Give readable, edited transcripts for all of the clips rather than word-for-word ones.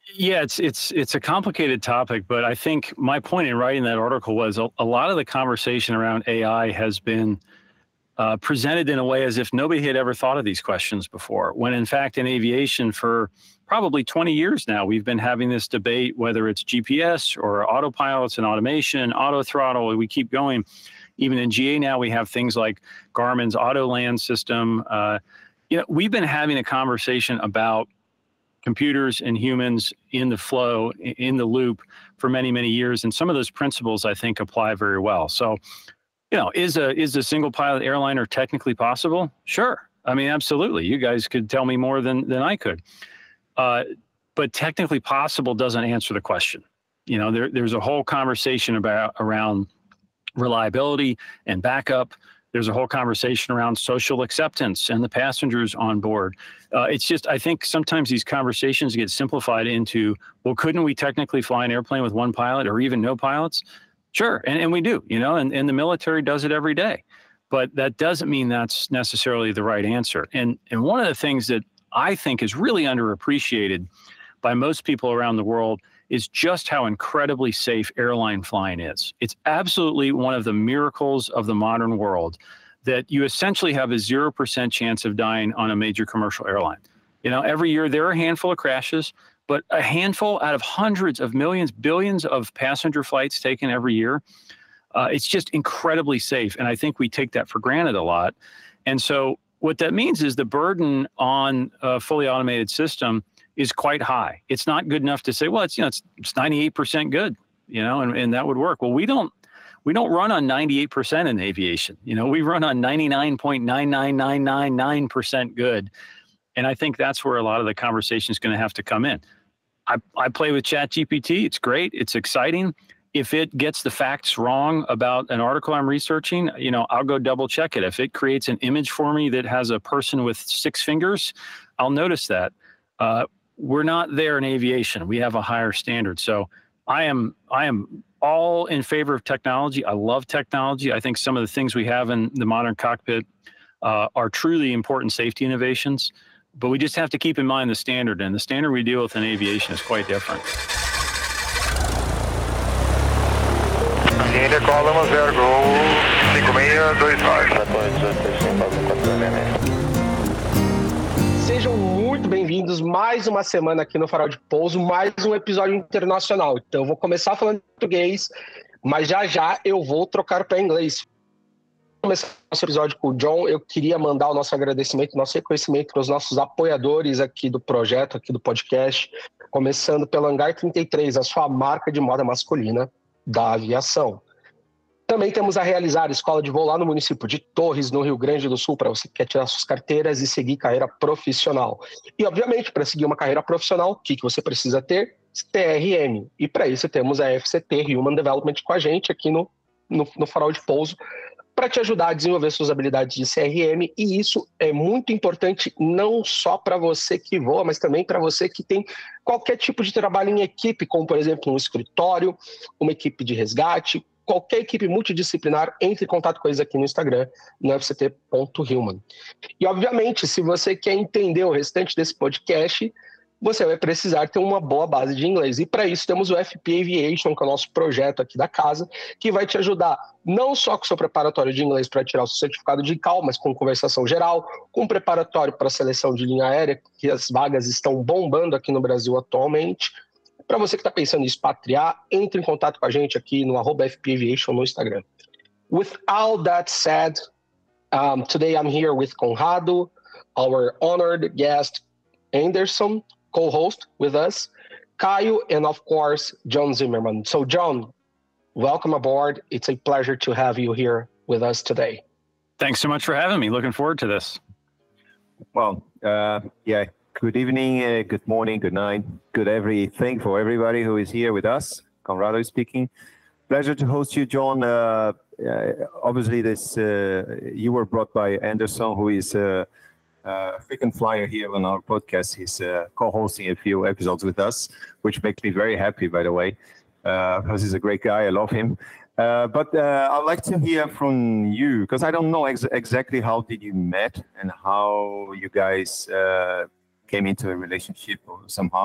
Yeah, it's a complicated topic, but I think my point in writing that article was a lot of the conversation around AI has been presented in a way as if nobody had ever thought of these questions before, when in fact in aviation for probably 20 years now, we've been having this debate, whether it's GPS or autopilots and automation, auto throttle, we keep going. Even in GA now, we have things like Garmin's Autoland system. We've been having a conversation about computers and humans in the flow, in the loop for many, many years. And some of those principles, I think, apply very well. So, is a single pilot airliner technically possible? Sure. I mean, absolutely. You guys could tell me more than I could. But technically possible doesn't answer the question. There's a whole conversation around reliability and backup. There's a whole conversation around social acceptance and the passengers on board. It's just, I think sometimes these conversations get simplified into, well, couldn't we technically fly an airplane with one pilot or even no pilots? Sure, and we do, and the military does it every day. But that doesn't mean that's necessarily the right answer. And one of the things that I think is really underappreciated by most people around the world is just how incredibly safe airline flying is. It's absolutely one of the miracles of the modern world that you essentially have a 0% chance of dying on a major commercial airline. Every year there are a handful of crashes, but a handful out of hundreds of millions, billions of passenger flights taken every year. It's just incredibly safe. And I think we take that for granted a lot. And so what that means is the burden on a fully automated system is quite high. It's not good enough to say, well, it's 98% good, and that would work. Well, we don't run on 98% in aviation. We run on 99.99999% good. And I think that's where a lot of the conversation is going to have to come in. I play with ChatGPT. It's great. It's exciting. If it gets the facts wrong about an article I'm researching, I'll go double check it. If it creates an image for me that has a person with 6 fingers, I'll notice that. We're not there in aviation. We have a higher standard. So I am all in favor of technology. I love technology. I think some of the things we have in the modern cockpit are truly important safety innovations, but we just have to keep in mind the standard, and the standard we deal with in aviation is quite different. Decola zero gol 5625. Sejam muito bem-vindos mais uma semana aqui no Farol de Pouso, mais um episódio internacional. Então eu vou começar falando português, mas já eu vou trocar para inglês. Começar nosso episódio com o John, eu queria mandar o nosso agradecimento, nosso reconhecimento para os nossos apoiadores aqui do projeto, aqui do podcast, começando pelo Hangar 33, a sua marca de moda masculina da aviação. Também temos a Realizar, escola de voo lá no município de Torres, no Rio Grande do Sul, para você que quer tirar suas carteiras e seguir carreira profissional. E, obviamente, para seguir uma carreira profissional, o que você precisa ter? TRM. E para isso temos a FCT Human Development com a gente aqui no Farol de Pouso, para te ajudar a desenvolver suas habilidades de CRM, e isso é muito importante não só para você que voa, mas também para você que tem qualquer tipo de trabalho em equipe, como, por exemplo, um escritório, uma equipe de resgate, qualquer equipe multidisciplinar, entre em contato com eles aqui no Instagram, no fct.human. E, obviamente, se você quer entender o restante desse podcast, você vai precisar ter uma boa base de inglês. E para isso temos o FP Aviation, que é o nosso projeto aqui da casa, que vai te ajudar não só com o seu preparatório de inglês para tirar o seu certificado de ICAO, mas com conversação geral, com preparatório para a seleção de linha aérea, que as vagas estão bombando aqui no Brasil atualmente. Para você que está pensando em expatriar, entre em contato com a gente aqui no @FP Aviation no Instagram. With all that said, today I'm here with Conrado, our honored guest Anderson, co-host with us, Caio, and of course, John Zimmerman. So John, welcome aboard. It's a pleasure to have you here with us today. Thanks so much for having me. Looking forward to this. Well, yeah. Good evening, good morning, good night, good everything for everybody who is here with us. Conrado speaking. Pleasure to host you, John. Obviously, you were brought by Anderson, who is a frequent flyer here on our podcast. He's co-hosting a few episodes with us, which makes me very happy, by the way, because he's a great guy. I love him. But I'd like to hear from you, because I don't know exactly how did you met and how you guys came into a relationship somehow.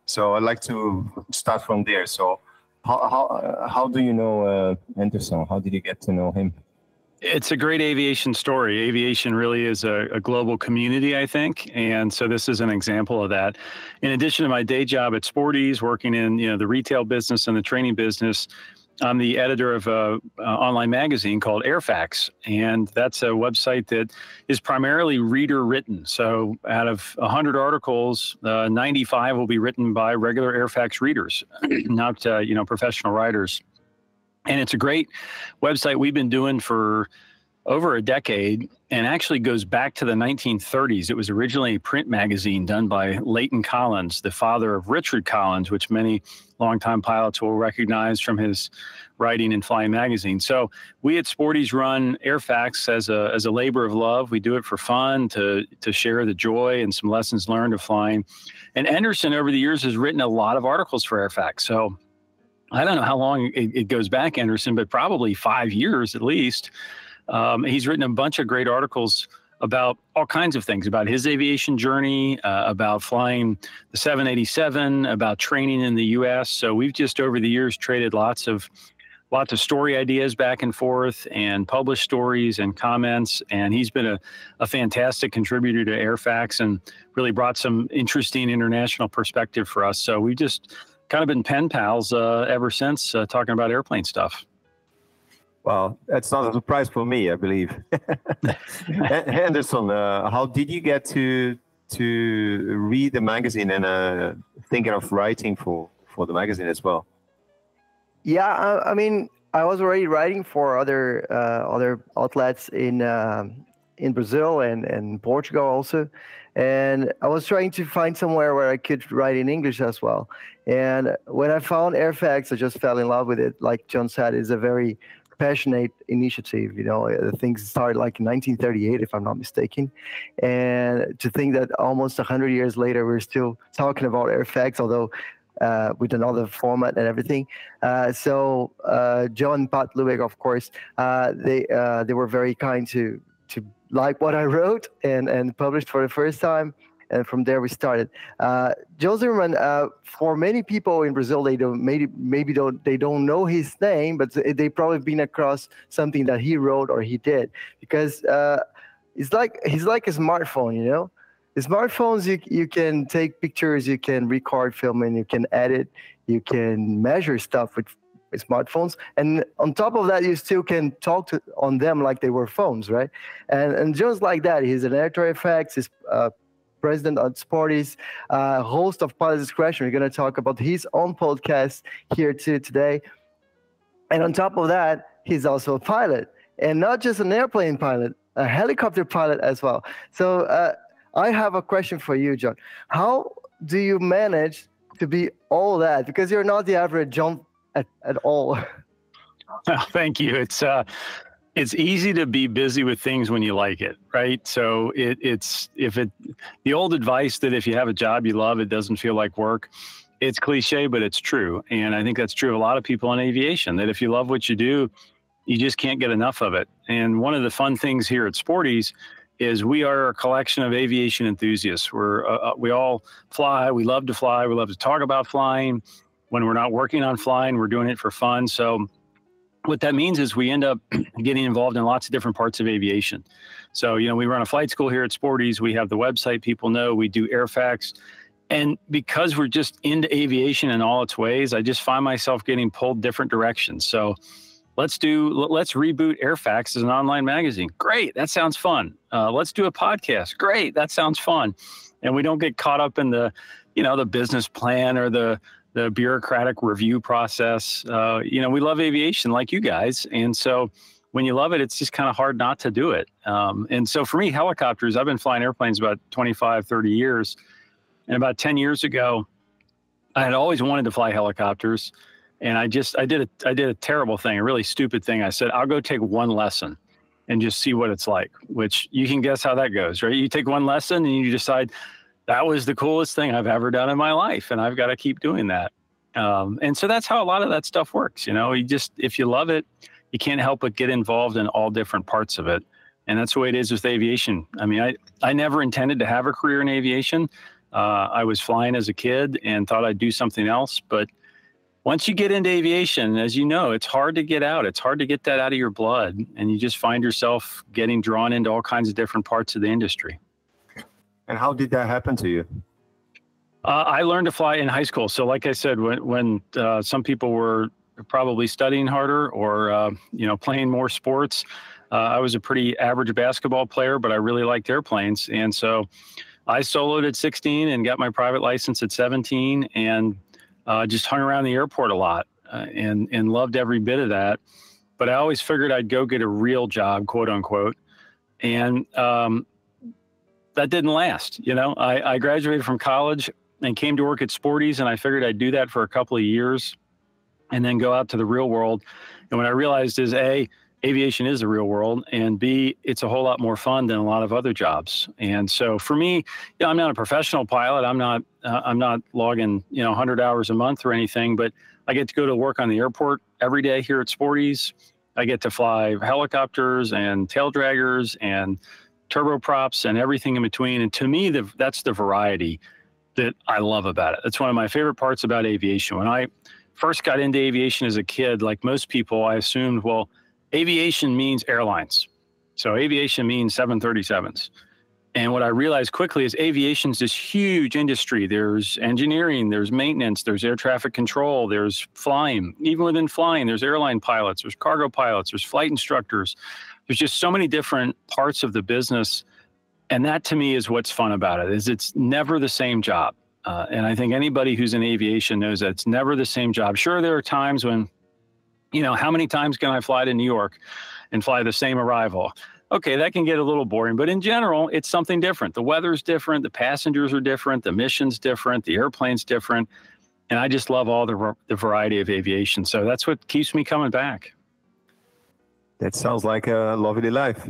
So I'd like to start from there. So how do you know Anderson? How did you get to know him? It's a great aviation story. Aviation really is a global community, I think. And so this is an example of that. In addition to my day job at Sporty's, working in the retail business and the training business, I'm the editor of an online magazine called Airfax. And that's a website that is primarily reader written. So out of 100 articles, 95 will be written by regular Airfax readers, not professional writers. And it's a great website we've been doing for over a decade, and actually goes back to the 1930s. It was originally a print magazine done by Leighton Collins, the father of Richard Collins, which many longtime pilots will recognize from his writing in Flying Magazine. So we at Sporty's run Airfax as a labor of love. We do it for fun, to share the joy and some lessons learned of flying. And Anderson over the years has written a lot of articles for Airfax. So I don't know how long it goes back, Anderson, but probably 5 years at least. He's written a bunch of great articles about all kinds of things, about his aviation journey, about flying the 787, about training in the U.S. So we've just over the years traded lots of story ideas back and forth, and published stories and comments. And he's been a fantastic contributor to Airfax and really brought some interesting international perspective for us. So we've just kind of been pen pals ever since, talking about airplane stuff. Well, that's not a surprise for me, I believe. Anderson, how did you get to read the magazine and thinking of writing for the magazine as well? Yeah, I mean, I was already writing for other outlets in Brazil and Portugal also, and I was trying to find somewhere where I could write in English as well. And when I found Airfax, I just fell in love with it. Like John said, it's a very passionate initiative. Things started like in 1938, if I'm not mistaken. And to think that almost 100 years later, we're still talking about Airfax, although with another format and everything. So John and Pat Lubeck, of course, they were very kind to like what I wrote and published for the first time. And from there we started. Joe Zimmerman, for many people in Brazil, they don't know his name, but they probably been across something that he wrote or he did, because he's like a smartphone. The smartphones, you can take pictures, you can record film, and you can edit, you can measure stuff with smartphones, and on top of that, you still can talk on them like they were phones, right? And just like that, he's an editor of Airfax, he's president at Sporty's, host of Pilot Discretion. We're going to talk about his own podcast here today. And on top of that, he's also a pilot, and not just an airplane pilot, a helicopter pilot as well. So I have a question for you, John. How do you manage to be all that? Because you're not the average John at all. Well, thank you. It's easy to be busy with things when you like it, right? So the old advice that if you have a job you love, it doesn't feel like work. It's cliche, but it's true. And I think that's true of a lot of people in aviation, that if you love what you do, you just can't get enough of it. And one of the fun things here at Sporty's is we are a collection of aviation enthusiasts. We all fly. We love to fly. We love to talk about flying. When we're not working on flying, we're doing it for fun. So what that means is we end up getting involved in lots of different parts of aviation. So, we run a flight school here at Sporty's. We have the website people know. We do Airfax. And because we're just into aviation in all its ways, I just find myself getting pulled different directions. So let's reboot Airfax as an online magazine. Great. That sounds fun. Let's do a podcast. Great. That sounds fun. And we don't get caught up in the business plan or the bureaucratic review process. We love aviation like you guys. And so when you love it, it's just kind of hard not to do it. And so for me, helicopters, I've been flying airplanes about 25, 30 years. And about 10 years ago, I had always wanted to fly helicopters. And I did a terrible thing, a really stupid thing. I said, I'll go take one lesson and just see what it's like, which you can guess how that goes, right? You take one lesson and you decide, that was the coolest thing I've ever done in my life, and I've got to keep doing that. And so that's how a lot of that stuff works. If you love it, you can't help but get involved in all different parts of it. And that's the way it is with aviation. I mean, I never intended to have a career in aviation. I was flying as a kid and thought I'd do something else. But once you get into aviation, as you know, it's hard to get out. It's hard to get that out of your blood. And you just find yourself getting drawn into all kinds of different parts of the industry. And how did that happen to you? I learned to fly in high school. So like I said, when some people were probably studying harder or, playing more sports, I was a pretty average basketball player, but I really liked airplanes. And so I soloed at 16 and got my private license at 17 and just hung around the airport a lot and loved every bit of that. But I always figured I'd go get a real job, quote unquote. And that didn't last. I graduated from college and came to work at Sporty's, and I figured I'd do that for a couple of years and then go out to the real world. And what I realized is A, aviation is the real world, and B, it's a whole lot more fun than a lot of other jobs. And so for me, I'm not a professional pilot. I'm not logging 100 hours a month or anything, but I get to go to work on the airport every day here at Sporty's. I get to fly helicopters and tail draggers and turboprops and everything in between. And to me, that's the variety that I love about it. That's one of my favorite parts about aviation. When I first got into aviation as a kid, like most people, I assumed, well, aviation means airlines. So aviation means 737s. And what I realized quickly is aviation's this huge industry. There's engineering, there's maintenance, there's air traffic control, there's flying. Even within flying, there's airline pilots, there's cargo pilots, there's flight instructors. There's just so many different parts of the business. And that to me is what's fun about it, is it's never the same job. And I think anybody who's in aviation knows that it's never the same job. Sure, there are times when, how many times can I fly to New York and fly the same arrival? Okay, that can get a little boring, but in general, it's something different. The weather's different, the passengers are different, the mission's different, the airplane's different. And I just love all the variety of aviation. So that's what keeps me coming back. That sounds like a lovely life.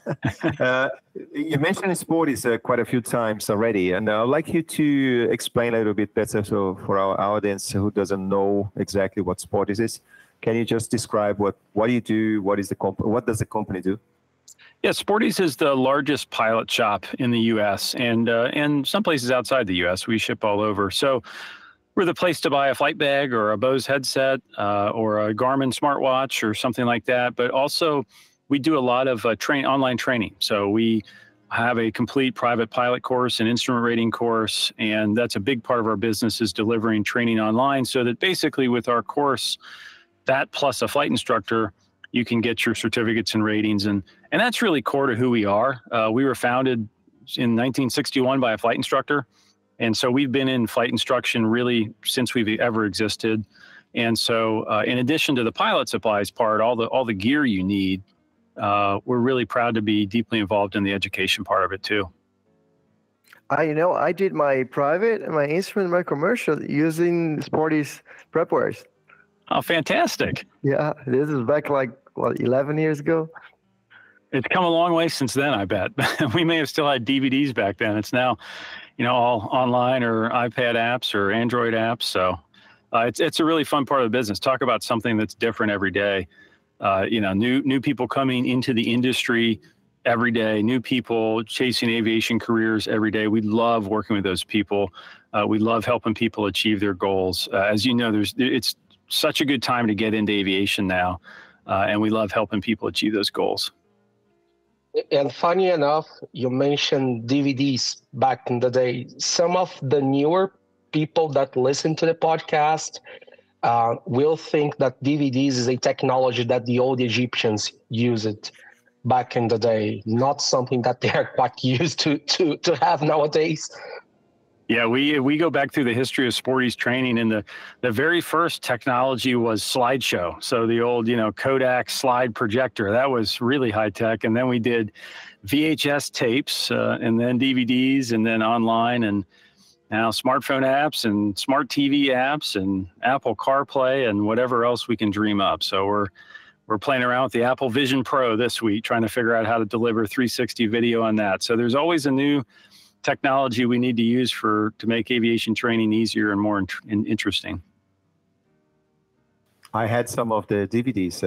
You mentioned Sporty's quite a fedo times already, and I'd like you to explain a little bit better so for our audience who doesn't know exactly what Sporty's is. Can you just describe what you do? What does the company do? Yeah, Sporty's is the largest pilot shop in the U.S. and some places outside the U.S. We ship all over. So we're the place to buy a flight bag or a Bose headset or a Garmin smartwatch or something like that. But also, we do a lot of online training. So we have a complete private pilot course and instrument rating course, and that's a big part of our business is delivering training online. So that basically, with our course, that plus a flight instructor, you can get your certificates and ratings, and that's really core to who we are. We were founded in 1961 by a flight instructor. And so we've been in flight instruction really since we've ever existed. And so in addition to the pilot supplies part, all the gear you need, we're really proud to be deeply involved in the education part of it too. I did my private and my instrument, my commercial using Sporty's prepwares. Oh, fantastic. Yeah, this is back 11 years ago. It's come a long way since then, I bet. We may have still had DVDs back then. It's now, all online or iPad apps or Android apps. So it's a really fun part of the business. Talk about something that's different every day. New people coming into the industry every day, new people chasing aviation careers every day. We love working with those people. We love helping people achieve their goals. As you know, it's such a good time to get into aviation now. And we love helping people achieve those goals. And funny enough, you mentioned DVDs back in the day. Some of the newer people that listen to the podcast will think that DVDs is a technology that the old Egyptians used back in the day, not something that they are quite used to have nowadays. Yeah, we go back through the history of Sporty's training, and the very first technology was slideshow. So the old, Kodak slide projector, that was really high tech. And then we did VHS tapes and then DVDs and then online, and now smartphone apps and smart TV apps and Apple CarPlay and whatever else we can dream up. So we're playing around with the Apple Vision Pro this week, trying to figure out how to deliver 360 video on that. So there's always a new technology we need to use to make aviation training easier and more interesting. I had some of the DVDs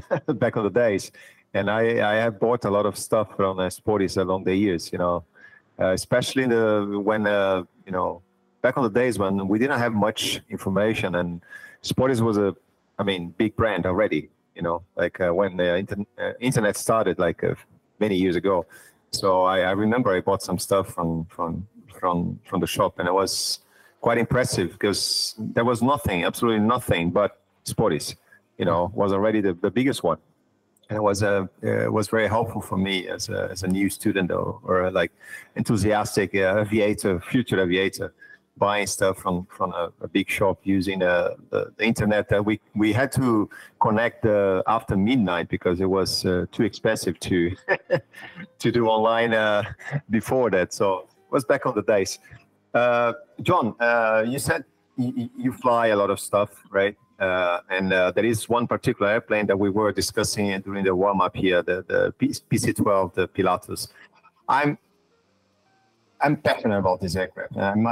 back in the days, and I have bought a lot of stuff from Sporty's along the years. especially when back on the days when we didn't have much information, and Sportis was big brand already. When the internet started, many years ago. So I remember I bought some stuff from the shop, and it was quite impressive because there was nothing, absolutely nothing, but Sportis, was already the biggest one. And it was very helpful for me as a new student or enthusiastic future aviator, buying stuff from a big shop using the internet that we had to connect after midnight because it was too expensive to to do online before that. So it was back on the days. John, you said you fly a lot of stuff, right? And there is one particular airplane that we were discussing during the warm-up here, the PC-12, the Pilatus. I'm passionate about this aircraft.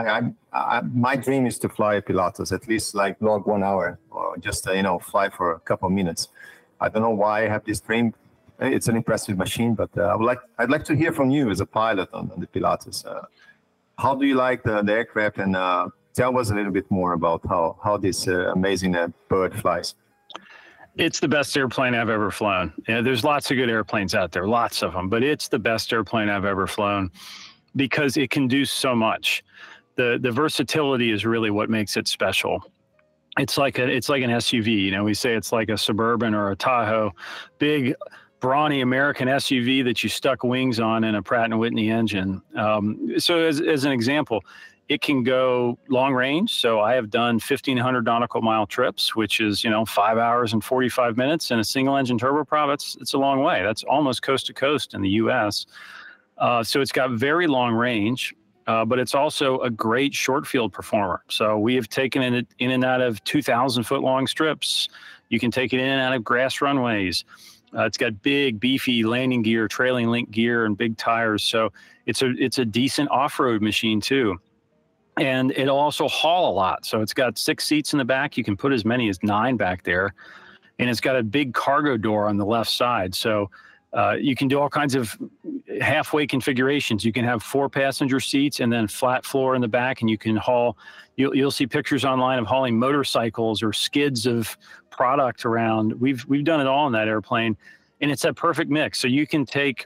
My dream is to fly a Pilatus, at least log 1 hour, or just fly for a couple of minutes. I don't know why I have this dream. It's an impressive machine, but I'd like to hear from you as a pilot on the Pilatus. How do you like the aircraft, and tell us a little bit more about how this amazing bird flies. It's the best airplane I've ever flown. There's lots of good airplanes out there, lots of them, but it's the best airplane I've ever flown because it can do so much. The versatility is really what makes it special. It's like an SUV. We say it's like a Suburban or a Tahoe, big, brawny American SUV that you stuck wings on in a Pratt & Whitney engine. So as an example, it can go long range. So I have done 1,500 nautical mile trips, which is, 5 hours and 45 minutes in a single engine turboprop. It's a long way. That's almost coast to coast in the US. So it's got very long range, but it's also a great short field performer. So we have taken it in and out of 2,000 foot long strips. You can take it in and out of grass runways. It's got big, beefy landing gear, trailing link gear, and big tires. So it's a decent off-road machine too. And it'll also haul a lot. So it's got 6 seats in the back. You can put as many as 9 back there. And it's got a big cargo door on the left side. So you can do all kinds of halfway configurations. You can have 4 passenger seats and then flat floor in the back, and you can haul. You'll see pictures online of hauling motorcycles or skids of product around. We've done it all in that airplane, and it's that perfect mix. So you can take,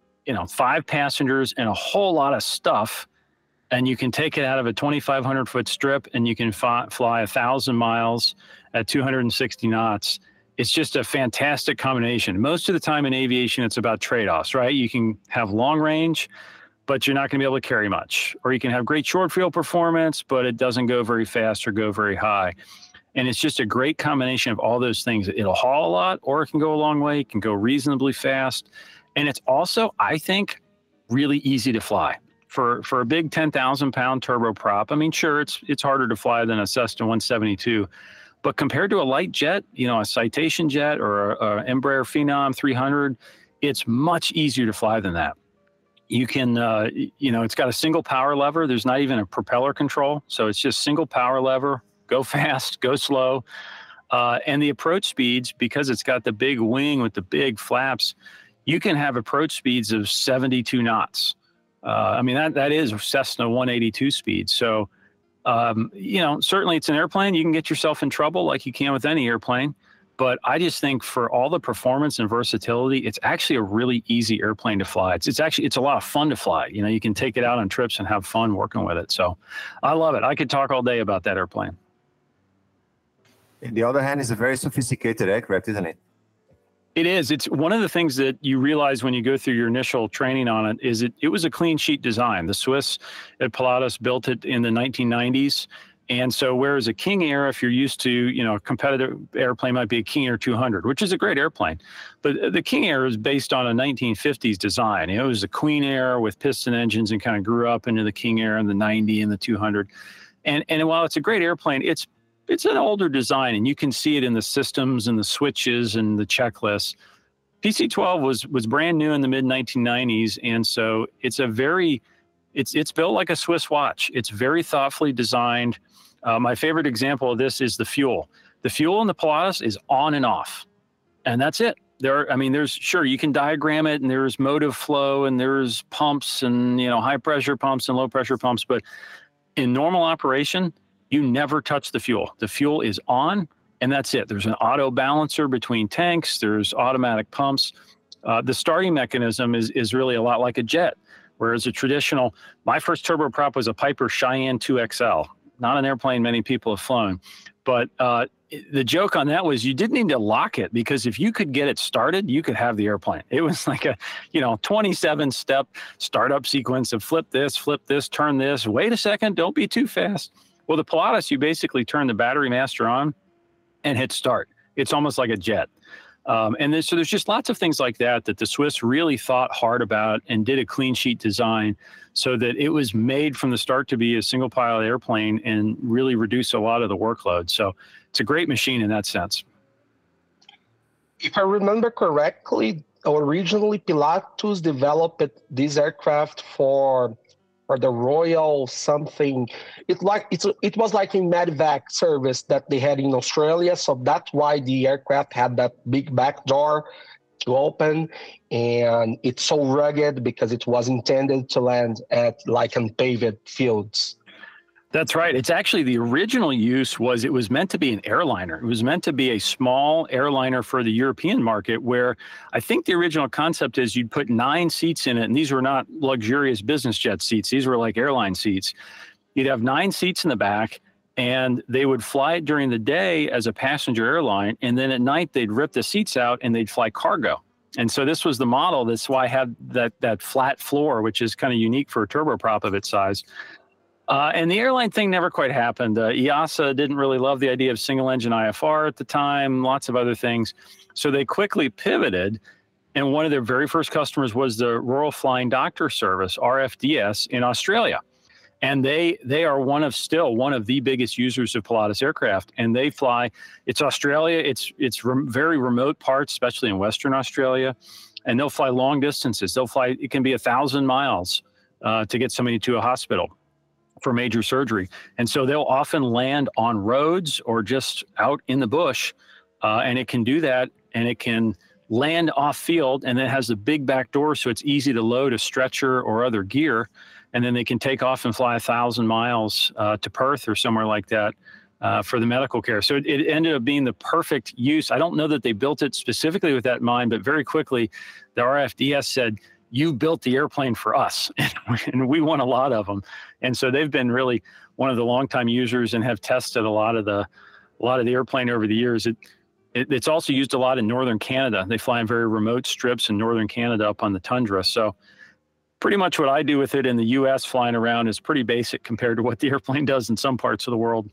5 passengers and a whole lot of stuff, and you can take it out of a 2,500 foot strip, and you can fly 1,000 miles at 260 knots. It's just a fantastic combination. Most of the time in aviation, it's about trade-offs, right? You can have long range, but you're not going to be able to carry much. Or you can have great short field performance, but it doesn't go very fast or go very high. And it's just a great combination of all those things. It'll haul a lot, or it can go a long way. It can go reasonably fast. And it's also, I think, really easy to fly. For a big 10,000 pound turboprop, I mean, sure, it's harder to fly than a Cessna 172. But compared to a light jet, a Citation jet or a Embraer Phenom 300, it's much easier to fly than that. You can, it's got a single power lever. There's not even a propeller control. So it's just single power lever, go fast, go slow. And the approach speeds, because it's got the big wing with the big flaps, you can have approach speeds of 72 knots. That is Cessna 182 speed. So, certainly it's an airplane. You can get yourself in trouble like you can with any airplane. But I just think for all the performance and versatility, it's actually a really easy airplane to fly. It's a lot of fun to fly. You can take it out on trips and have fun working with it. So I love it. I could talk all day about that airplane. On the other hand, it's a very sophisticated aircraft, isn't it? It is. It's one of the things that you realize when you go through your initial training on it is it was a clean sheet design. The Swiss at Pilatus built it in the 1990s. And so whereas a King Air, if you're used to, a competitive airplane might be a King Air 200, which is a great airplane. But the King Air is based on a 1950s design. It was a Queen Air with piston engines and kind of grew up into the King Air and the 90 and the 200. And while it's a great airplane, it's an older design, and you can see it in the systems and the switches and the checklists. PC-12 was brand new in the mid-1990s, and so it's built like a Swiss watch. It's very thoughtfully designed. My favorite example of this is the fuel. The fuel in the Pilatus is on and off, and that's it. I mean, sure, you can diagram it, and there's motive flow, and there's pumps, and high pressure pumps and low pressure pumps. But in normal operation, you never touch the fuel. The fuel is on, and that's it. There's an auto balancer between tanks. There's automatic pumps. The starting mechanism is really a lot like a jet, whereas my first turboprop was a Piper Cheyenne 2XL, not an airplane many people have flown. But the joke on that was you didn't need to lock it, because if you could get it started, you could have the airplane. It was like a 27-step startup sequence of flip this, turn this, wait a second, don't be too fast. Well, the Pilatus, you basically turn the battery master on and hit start. It's almost like a jet. So there's just lots of things like that the Swiss really thought hard about and did a clean sheet design so that it was made from the start to be a single pilot airplane and really reduce a lot of the workload. So it's a great machine in that sense. If I remember correctly, originally Pilatus developed this aircraft for the Royal something. It was like a medevac service that they had in Australia, so that's why the aircraft had that big back door to open, and it's so rugged because it was intended to land at like unpaved fields. That's right. It's actually the original use it was meant to be an airliner. It was meant to be a small airliner for the European market, where I think the original concept is you'd put 9 seats in it. And these were not luxurious business jet seats. These were like airline seats. You'd have 9 seats in the back, and they would fly it during the day as a passenger airline. And then at night, they'd rip the seats out and they'd fly cargo. And so this was the model. That's why I had that flat floor, which is kind of unique for a turboprop of its size. And the airline thing never quite happened. EASA didn't really love the idea of single engine IFR at the time, lots of other things. So they quickly pivoted. And one of their very first customers was the Royal Flying Doctor Service, RFDS, in Australia. And they are one of the biggest users of Pilatus aircraft. And they fly, it's Australia, it's very remote parts, especially in Western Australia. And they'll fly long distances. It can be 1,000 miles to get somebody to a hospital for major surgery. And so they'll often land on roads or just out in the bush. And it can do that, and it can land off field, and then it has the big back door, so it's easy to load a stretcher or other gear. And then they can take off and fly 1,000 miles to Perth or somewhere like that for the medical care. So it ended up being the perfect use. I don't know that they built it specifically with that in mind, but very quickly the RFDS said, you built the airplane for us, and we want a lot of them. And so they've been really one of the longtime users and have tested a lot of the airplane over the years. It's also used a lot in northern Canada. They fly in very remote strips in northern Canada up on the tundra. So pretty much what I do with it in the U.S. flying around is pretty basic compared to what the airplane does in some parts of the world.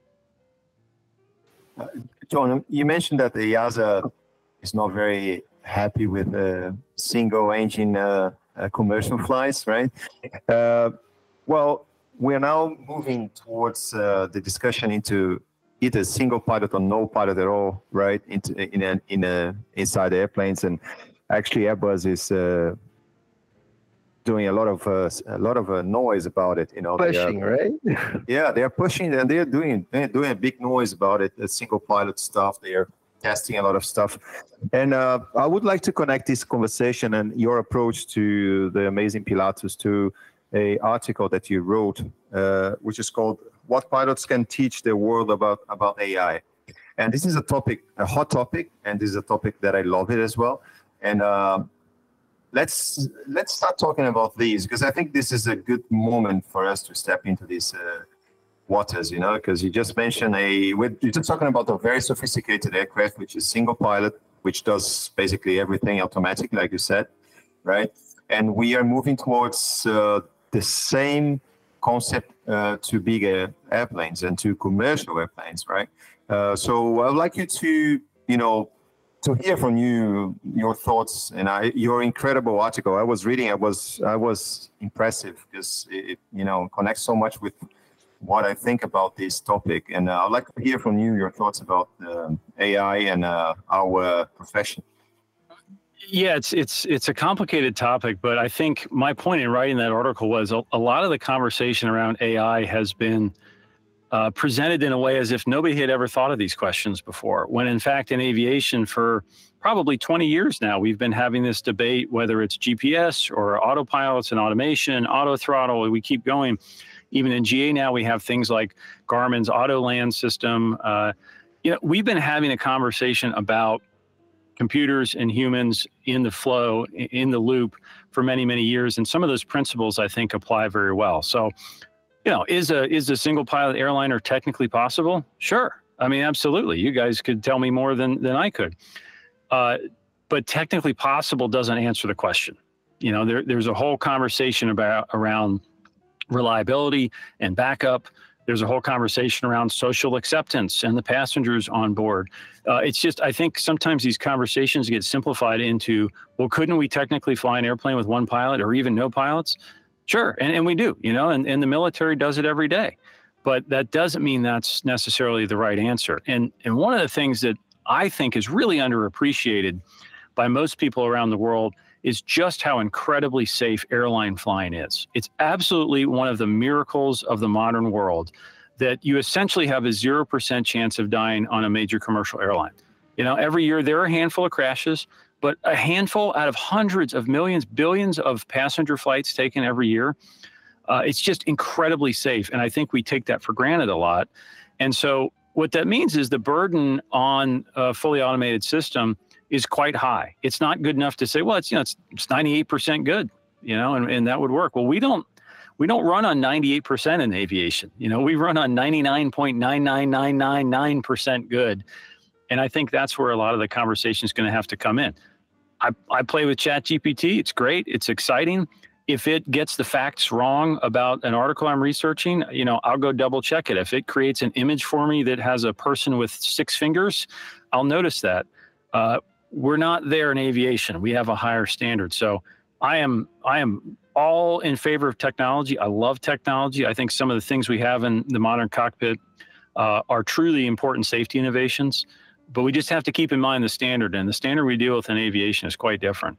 John, you mentioned that the EASA is not very happy with single engine commercial flights, right? Well, we're now moving towards the discussion into either single pilot or no pilot at all, right? Inside the airplanes, and actually Airbus is doing a lot of noise about it. Pushing, right? Yeah, they are pushing, and they're doing a big noise about it. The single pilot stuff, they're testing a lot of stuff. And I would like to connect this conversation and your approach to the amazing Pilatus to an article that you wrote, which is called "What Pilots Can Teach the World About AI." And this is a hot topic, and this is a topic that I love it as well. And let's start talking about these, because I think this is a good moment for us to step into these waters, because you just mentioned you're just talking about a very sophisticated aircraft, which is single pilot, which does basically everything automatically, like you said, right? And we are moving towards the same concept to bigger airplanes and to commercial airplanes, right? So I'd like you to, to hear from you your thoughts and your incredible article. I was reading. I was impressive because it connects so much with what I think about this topic, and I'd like to hear from you your thoughts about AI and our profession. Yeah, it's a complicated topic, but I think my point in writing that article was a lot of the conversation around AI has been presented in a way as if nobody had ever thought of these questions before, when in fact in aviation for probably 20 years now, we've been having this debate, whether it's GPS or autopilots and automation, auto throttle, we keep going. Even in GA now, we have things like Garmin's Autoland system. We've been having a conversation about computers and humans in the flow, in the loop for many, many years. And some of those principles, I think, apply very well. So, is a single pilot airliner technically possible? Sure. I mean, absolutely. You guys could tell me more than I could. But technically possible doesn't answer the question. There's a whole conversation around reliability and backup. There's a whole conversation around social acceptance and the passengers on board. It's just, I think sometimes these conversations get simplified into, well, couldn't we technically fly an airplane with one pilot or even no pilots? Sure, and we do, and the military does it every day. But that doesn't mean that's necessarily the right answer. And one of the things that I think is really underappreciated by most people around the world is just how incredibly safe airline flying is. It's absolutely one of the miracles of the modern world that you essentially have a 0% chance of dying on a major commercial airline. Every year there are a handful of crashes, but a handful out of hundreds of millions, billions of passenger flights taken every year. It's just incredibly safe. And I think we take that for granted a lot. And so what that means is the burden on a fully automated system is quite high. It's not good enough to say, well, it's 98% good, and that would work. Well, we don't run on 98% in aviation. We run on 99.99999% good. And I think that's where a lot of the conversation is going to have to come in. I play with ChatGPT. It's great. It's exciting. If it gets the facts wrong about an article I'm researching, I'll go double check it. If it creates an image for me that has a person with 6 fingers, I'll notice that. We're not there in aviation. We have a higher standard. So I am all in favor of technology. I love technology. I think some of the things we have in the modern cockpit are truly important safety innovations, but we just have to keep in mind the standard, and the standard we deal with in aviation is quite different.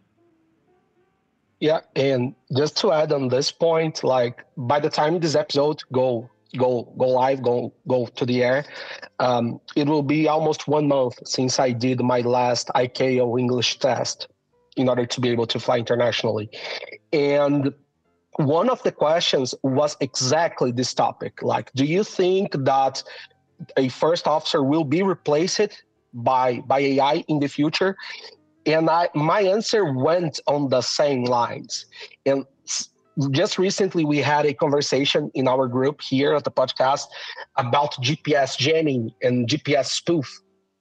Yeah, and just to add on this point, like by the time this episode go live, go to the air, it will be almost 1 month since I did my last ICAO English test in order to be able to fly internationally. And one of the questions was exactly this topic. Like, do you think that a first officer will be replaced by AI in the future? And my answer went on the same lines. And just recently, we had a conversation in our group here at the podcast about GPS jamming and GPS spoof.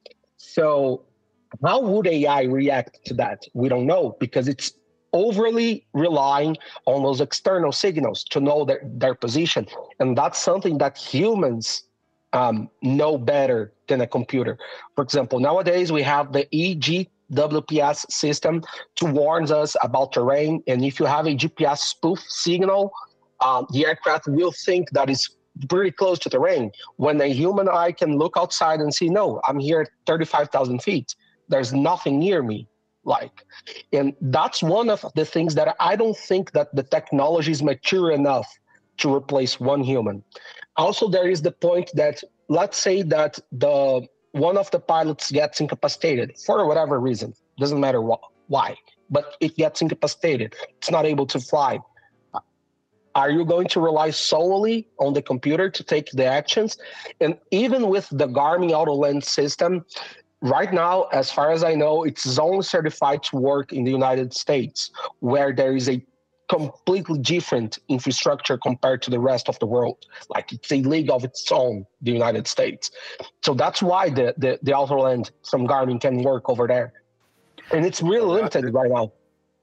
So how would AI react to that? We don't know, because it's overly relying on those external signals to know their position. And that's something that humans know better than a computer. For example, nowadays we have the EGWPS system to warn us about terrain. And if you have a GPS spoof signal, the aircraft will think that it's pretty close to terrain, when a human eye can look outside and see, no, I'm here at 35,000 feet. There's nothing near me. And that's one of the things that I don't think that the technology is mature enough to replace one human. Also, there is the point that, let's say that one of the pilots gets incapacitated for whatever reason, doesn't matter why, but it gets incapacitated. It's not able to fly. Are you going to rely solely on the computer to take the actions? And even with the Garmin Autoland system, right now, as far as I know, it's only certified to work in the United States, where there is a completely different infrastructure compared to the rest of the world. Like, it's a league of its own, the United States. So that's why the Autoland from Garmin can work over there. And it's really limited right now.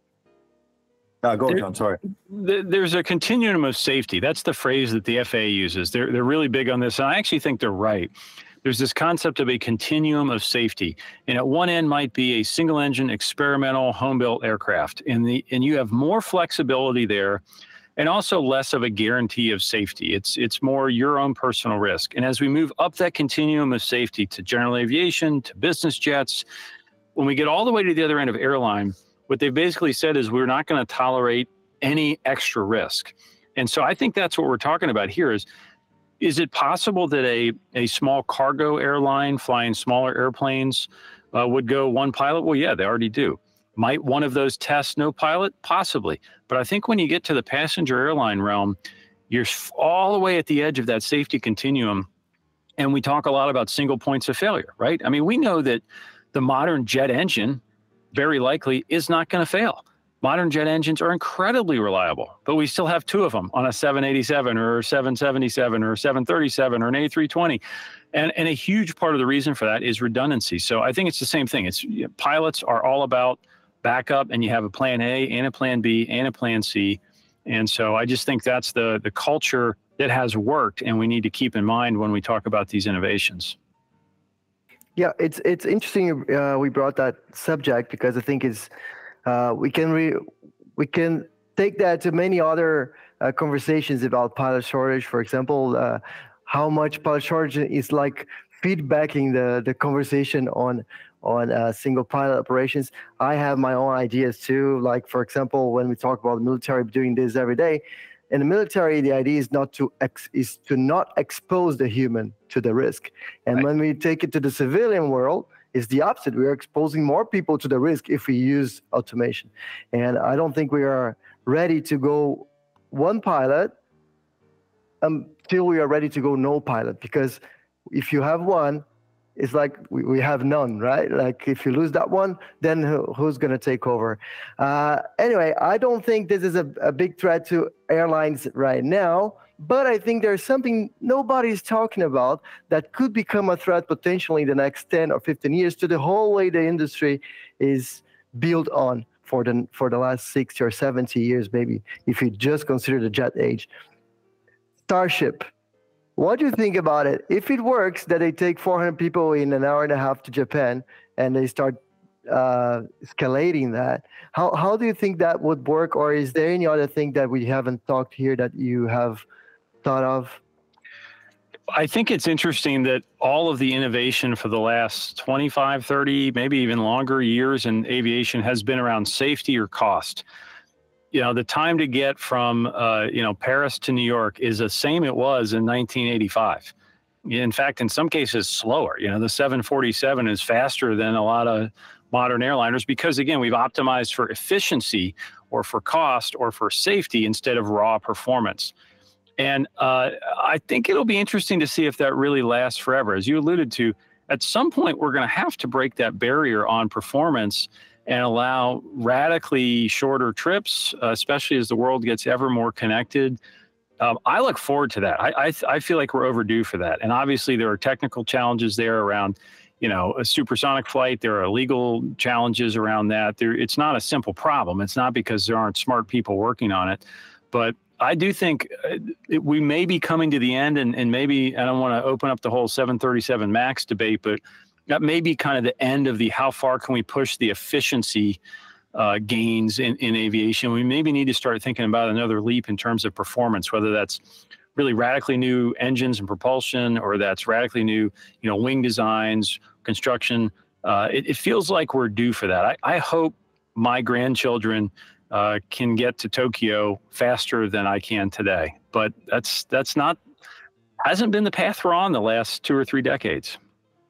Go, John, sorry. There's a continuum of safety. That's the phrase that the FAA uses. They're really big on this, and I actually think they're right. There's this concept of a continuum of safety. And at one end might be a single engine experimental home-built aircraft. And you have more flexibility there, and also less of a guarantee of safety. It's more your own personal risk. And as we move up that continuum of safety to general aviation, to business jets, when we get all the way to the other end of airline, what they've basically said is we're not going to tolerate any extra risk. And so I think that's what we're talking about here is, Is it possible that a small cargo airline flying smaller airplanes would go one pilot? Well, yeah, they already do. Might one of those test no pilot? Possibly. But I think when you get to the passenger airline realm, you're all the way at the edge of that safety continuum. And we talk a lot about single points of failure, right? I mean, we know that the modern jet engine very likely is not going to fail. Modern jet engines are incredibly reliable, but we still have two of them on a 787 or a 777 or a 737 or an A320. And a huge part of the reason for that is redundancy. So I think it's the same thing. Pilots are all about backup, and you have a plan A and a plan B and a plan C. And so I just think that's the culture that has worked, and we need to keep in mind when we talk about these innovations. Yeah, it's interesting we brought that subject, because I think it's we can take that to many other conversations about pilot shortage. For example, how much pilot shortage is like feedbacking the conversation on single pilot operations. I have my own ideas too. Like, for example, when we talk about the military doing this every day, in the military, the idea is to not expose the human to the risk. And right. When we take it to the civilian world, it's the opposite. We are exposing more people to the risk if we use automation. And I don't think we are ready to go one pilot until we are ready to go no pilot. Because if you have one, it's like we have none, right? Like if you lose that one, then who's going to take over? Anyway, I don't think this is a big threat to airlines right now, but I think there's something nobody's talking about that could become a threat potentially in the next 10 or 15 years to the whole way the industry is built on for the last 60 or 70 years, maybe, if you just consider the jet age. Starship. What do you think about it? If it works, that they take 400 people in an hour and a half to Japan, and they start escalating that, how do you think that would work? Or is there any other thing that we haven't talked here that you have thought of? I think it's interesting that all of the innovation for the last 25, 30, maybe even longer years in aviation has been around safety or cost. You know, the time to get from, Paris to New York is the same it was in 1985. In fact, in some cases, slower. You know, the 747 is faster than a lot of modern airliners because, again, we've optimized for efficiency or for cost or for safety instead of raw performance. And I think it'll be interesting to see if that really lasts forever. As you alluded to, at some point, we're going to have to break that barrier on performance and allow radically shorter trips, especially as the world gets ever more connected. I look forward to that. I feel like we're overdue for that. And obviously there are technical challenges there around, a supersonic flight. There are legal challenges around that. It's not a simple problem. It's not because there aren't smart people working on it. But I do think we may be coming to the end, and maybe I don't want to open up the whole 737 MAX debate, but that may be kind of the end of the how far can we push the efficiency gains in aviation. We maybe need to start thinking about another leap in terms of performance, whether that's really radically new engines and propulsion, or that's radically new, wing designs, construction. It feels like we're due for that. I hope my grandchildren can get to Tokyo faster than I can today, but hasn't been the path we're on the last 2 or 3 decades.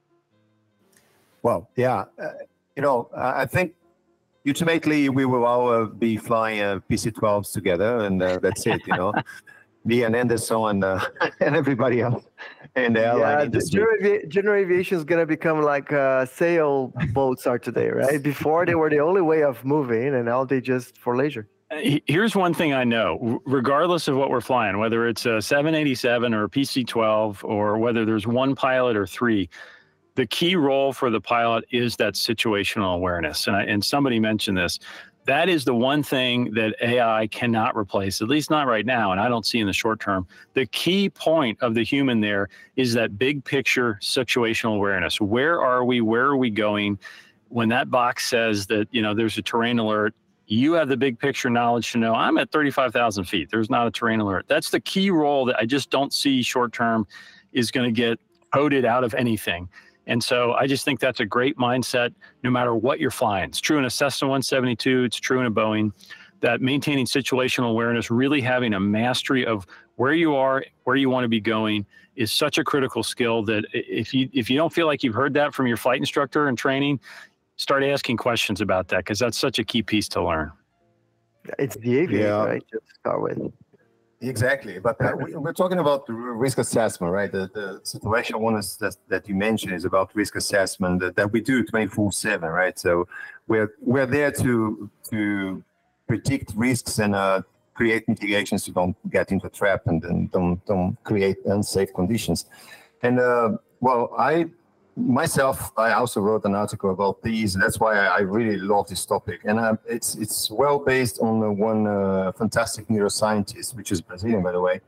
Well, yeah, I think ultimately we will all be flying PC-12s together, and that's it. Me and Anderson and everybody else in the airline industry. General aviation is going to become like sail boats are today, right? Before they were the only way of moving, and now they just for leisure. Here's one thing I know, regardless of what we're flying, whether it's a 787 or a PC-12, or whether there's one pilot or 3, the key role for the pilot is that situational awareness. And somebody mentioned this. That is the one thing that AI cannot replace, at least not right now, and I don't see in the short term. The key point of the human there is that big picture situational awareness. Where are we? Where are we going? When that box says that, there's a terrain alert, you have the big picture knowledge to know I'm at 35,000 feet. There's not a terrain alert. That's the key role that I just don't see short term is going to get coded out of anything. And so I just think that's a great mindset, no matter what you're flying. It's true in a Cessna 172, it's true in a Boeing, that maintaining situational awareness, really having a mastery of where you are, where you want to be going is such a critical skill that if you don't feel like you've heard that from your flight instructor in training, start asking questions about that, because that's such a key piece to learn. It's the aviator, right? To start with. Exactly, but we're talking about risk assessment, right? The situation one is that you mentioned is about risk assessment that we do 24/7, right? So we're there to predict risks and create mitigations so don't get into a trap and then don't create unsafe conditions. And I also wrote an article about these. That's why I really love this topic. And it's well based on one fantastic neuroscientist, which is Brazilian, by the way,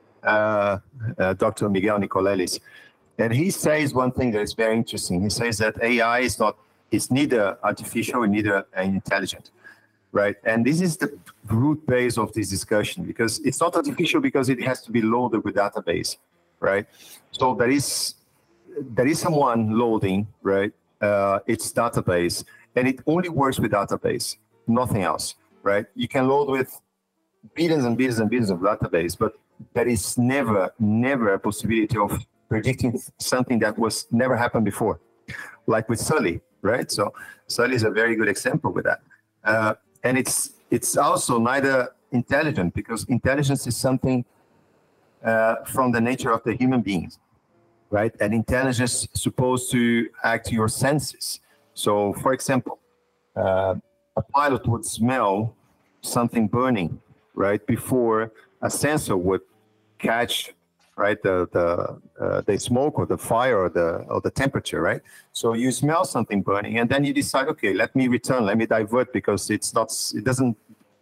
Dr. Miguel Nicolelis. And he says one thing that is very interesting. He says that AI is neither artificial and neither intelligent, right? And this is the root base of this discussion, because it's not artificial because it has to be loaded with database, right? So there is someone loading, right, its database, and it only works with database, nothing else, right? You can load with billions and billions and billions of database, but there is never a possibility of predicting something that was never happened before, like with Sully, right? So Sully is a very good example with that. And it's also neither intelligent, because intelligence is something from the nature of the human beings, right? And intelligence is supposed to act your senses. So, for example, a pilot would smell something burning, right, before a sensor would catch, right, the smoke or the fire or the temperature, right? So you smell something burning, and then you decide, okay, let me divert, because it doesn't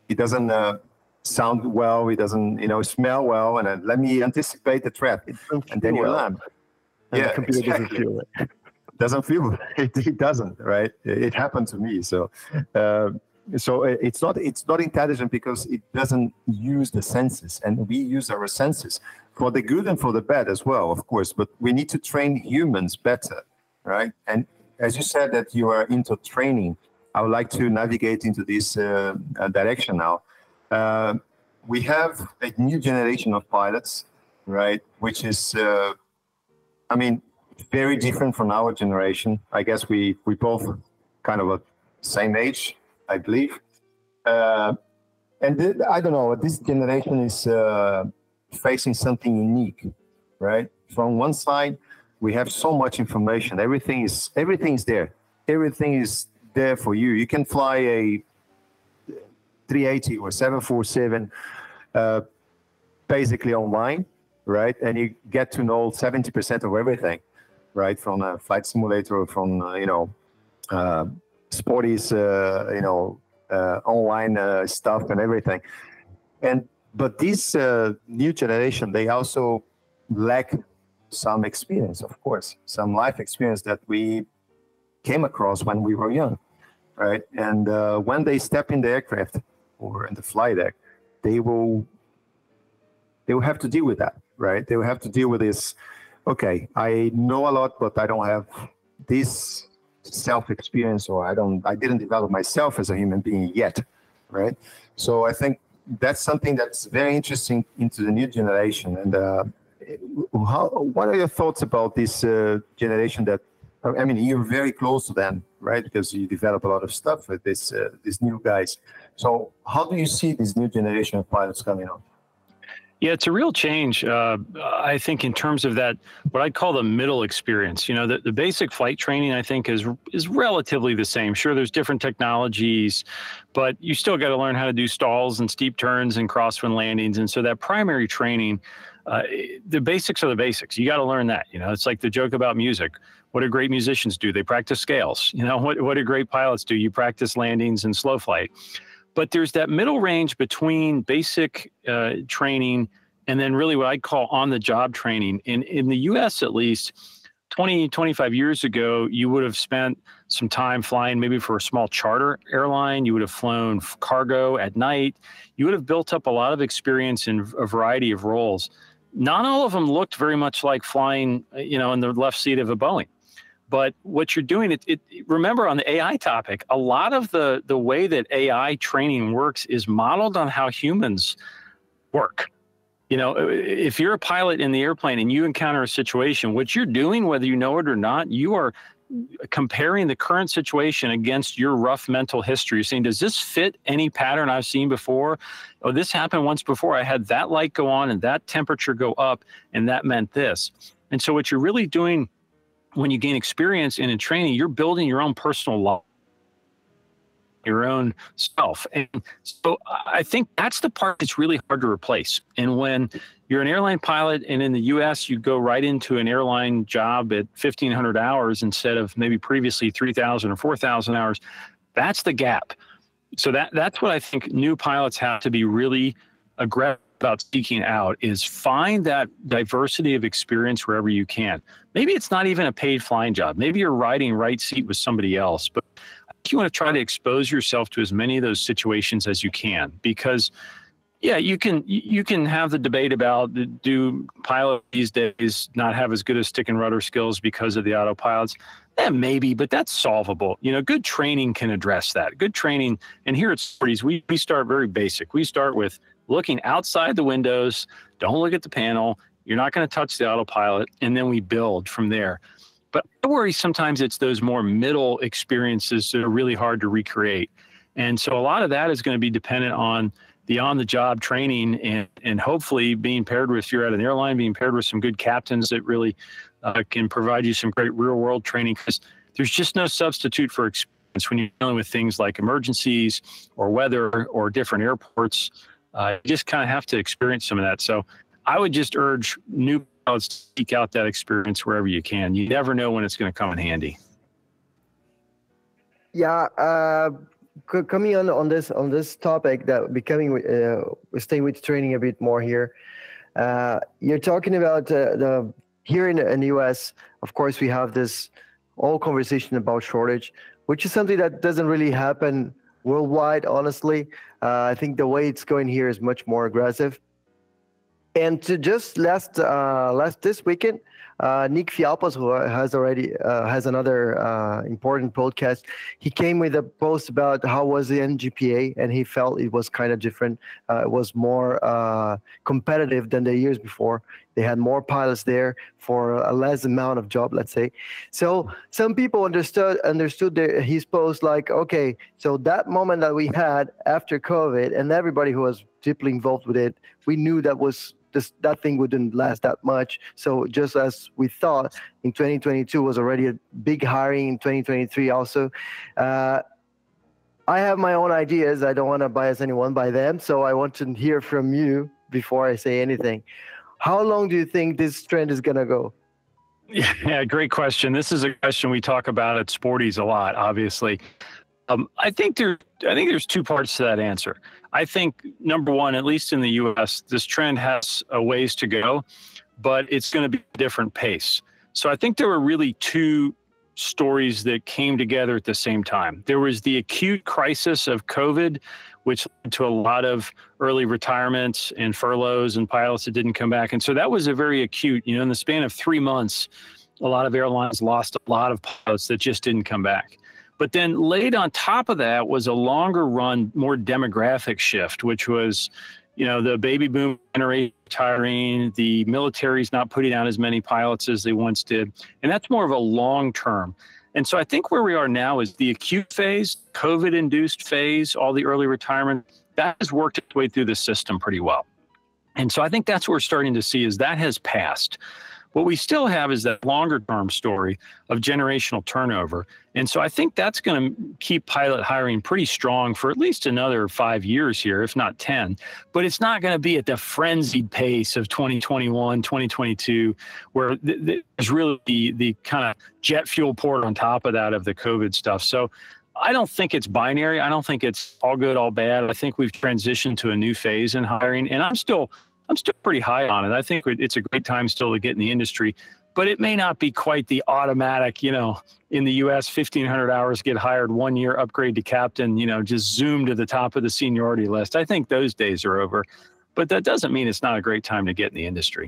sound well, it doesn't smell well, and let me anticipate the threat, and then you land. Yeah, the computer doesn't feel it. Doesn't feel it. It doesn't, right? It happened to me. So it's not intelligent because it doesn't use the senses, and we use our senses for the good and for the bad as well, of course. But we need to train humans better, right? And as you said that you are into training, I would like to navigate into this direction now. We have a new generation of pilots, right? Which is very different from our generation. I guess we both kind of a same age, I believe. I don't know, this generation is facing something unique, right? From one side, we have so much information. Everything is there. Everything is there for you. You can fly a 380 or 747 basically online, right? And you get to know 70% of everything, right? From a flight simulator, from Sporty's, online stuff and everything. But this new generation, they also lack some experience, of course, some life experience that we came across when we were young, right? And when they step in the aircraft or in the flight deck, they will have to deal with that, right? They will have to deal with this. Okay, I know a lot, but I don't have this self-experience, or I didn't develop myself as a human being yet, right? So I think that's something that's very interesting into the new generation. And what are your thoughts about this generation that, you're very close to them, right? Because you develop a lot of stuff with these new guys. So how do you see this new generation of pilots coming on? Yeah, it's a real change, I think, in terms of that, what I'd call the middle experience. The basic flight training, I think, is relatively the same. Sure, there's different technologies, but you still got to learn how to do stalls and steep turns and crosswind landings. And so that primary training, the basics are the basics. You got to learn that. It's like the joke about music. What do great musicians do? They practice scales. What do great pilots do? You practice landings and slow flight. But there's that middle range between basic training and then really what I'd call on-the-job training. In the U.S., at least, 20, 25 years ago, you would have spent some time flying maybe for a small charter airline. You would have flown cargo at night. You would have built up a lot of experience in a variety of roles. Not all of them looked very much like flying, in the left seat of a Boeing. But what you're doing, remember on the AI topic, a lot of the way that AI training works is modeled on how humans work. You know, if you're a pilot in the airplane and you encounter a situation, what you're doing, whether you know it or not, you are comparing the current situation against your rough mental history. You're saying, does this fit any pattern I've seen before? Oh, this happened once before. I had that light go on and that temperature go up, and that meant this. And so what you're really doing when you gain experience and in training, you're building your own personal law, your own self. And so I think that's the part that's really hard to replace. And when you're an airline pilot and in the US, you go right into an airline job at 1,500 hours instead of maybe previously 3,000 or 4,000 hours, that's the gap. So that's what I think new pilots have to be really aggressive about seeking out, is find that diversity of experience wherever you can. Maybe it's not even a paid flying job. Maybe you're riding right seat with somebody else, but you want to try to expose yourself to as many of those situations as you can, because yeah, you can have the debate about, do pilots these days not have as good as stick and rudder skills because of the autopilots? Maybe, but that's solvable. You know, good training can address that. Good training, and here at Sporty's, we start very basic. We start with looking outside the windows. Don't look at the panel. You're not going to touch the autopilot, and then we build from there. But I worry sometimes it's those more middle experiences that are really hard to recreate. And so a lot of that is going to be dependent on the on-the-job training and hopefully being paired with, if you're at an airline, being paired with some good captains that really can provide you some great real-world training, because there's just no substitute for experience when you're dealing with things like emergencies or weather or different airports. You just kind of have to experience some of that. So I would just urge new pilots to seek out that experience wherever you can. You never know when it's going to come in handy. Yeah, coming on this topic, that becoming stay with training a bit more here. You're talking about the here in the US. Of course, we have this whole conversation about shortage, which is something that doesn't really happen worldwide. Honestly, I think the way it's going here is much more aggressive. And to just last this weekend, Nick Fialpos, who has another important podcast, he came with a post about how was the NGPA, and he felt it was kind of different. It was more competitive than the years before. They had more pilots there for a less amount of job, let's say. So some people understood his post like, okay, so that moment that we had after COVID, and everybody who was deeply involved with it, we knew that thing wouldn't last that much. So just as we thought in 2022 was already a big hiring, in 2023 also. I have my own ideas. I don't want to bias anyone by them. So I want to hear from you before I say anything. How long do you think this trend is going to go? Yeah, great question. This is a question we talk about at Sporty's a lot, obviously. I think there's two parts to that answer. I think, number one, at least in the U.S., this trend has a ways to go, but it's going to be a different pace. So I think there were really two stories that came together at the same time. There was the acute crisis of COVID, which led to a lot of early retirements and furloughs and pilots that didn't come back. And so that was a very acute, in the span of 3 months, a lot of airlines lost a lot of pilots that just didn't come back. But then laid on top of that was a longer run, more demographic shift, which was, the baby boom generation retiring, the military's not putting out as many pilots as they once did. And that's more of a long term. And so I think where we are now is the acute phase, COVID-induced phase, all the early retirement, that has worked its way through the system pretty well. And so I think that's what we're starting to see is that has passed. What we still have is that longer term story of generational turnover. And so I think that's going to keep pilot hiring pretty strong for at least another 5 years here, if not 10. But it's not going to be at the frenzied pace of 2021, 2022, where there's really the kind of jet fuel poured on top of that of the COVID stuff. So I don't think it's binary. I don't think it's all good, all bad. I think we've transitioned to a new phase in hiring, and I'm still pretty high on it. I think it's a great time still to get in the industry, but it may not be quite the automatic, in the US, 1,500 hours, get hired, 1 year, upgrade to captain, just zoom to the top of the seniority list. I think those days are over, but that doesn't mean it's not a great time to get in the industry.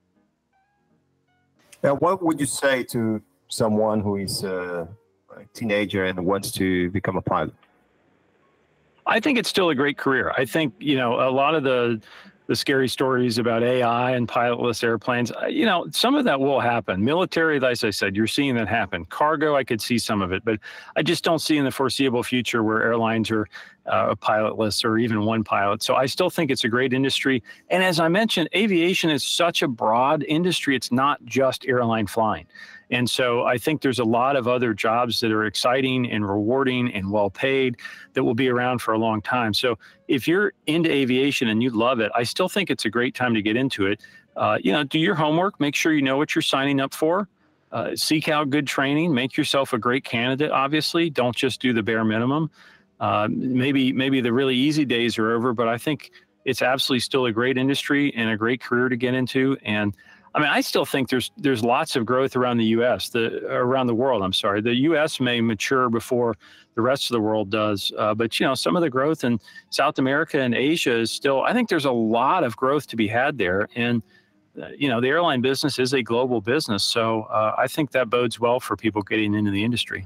Now, what would you say to someone who is a teenager and wants to become a pilot? I think it's still a great career. I think, a lot of the the scary stories about AI and pilotless airplanes. Some of that will happen. Military, as I said, you're seeing that happen. Cargo, I could see some of it, but I just don't see in the foreseeable future where airlines are pilotless or even one pilot. So I still think it's a great industry. And as I mentioned, aviation is such a broad industry. It's not just airline flying. And so I think there's a lot of other jobs that are exciting and rewarding and well paid that will be around for a long time. So if you're into aviation and you love it, I still think it's a great time to get into it. Do your homework, make sure you know what you're signing up for. Seek out good training, make yourself a great candidate, obviously. Don't just do the bare minimum. Maybe the really easy days are over, but I think it's absolutely still a great industry and a great career to get into. And I still think there's lots of growth around the U.S., around the world. I'm sorry. The U.S. may mature before the rest of the world does. But some of the growth in South America and Asia is still, I think there's a lot of growth to be had there. And, the airline business is a global business. So I think that bodes well for people getting into the industry.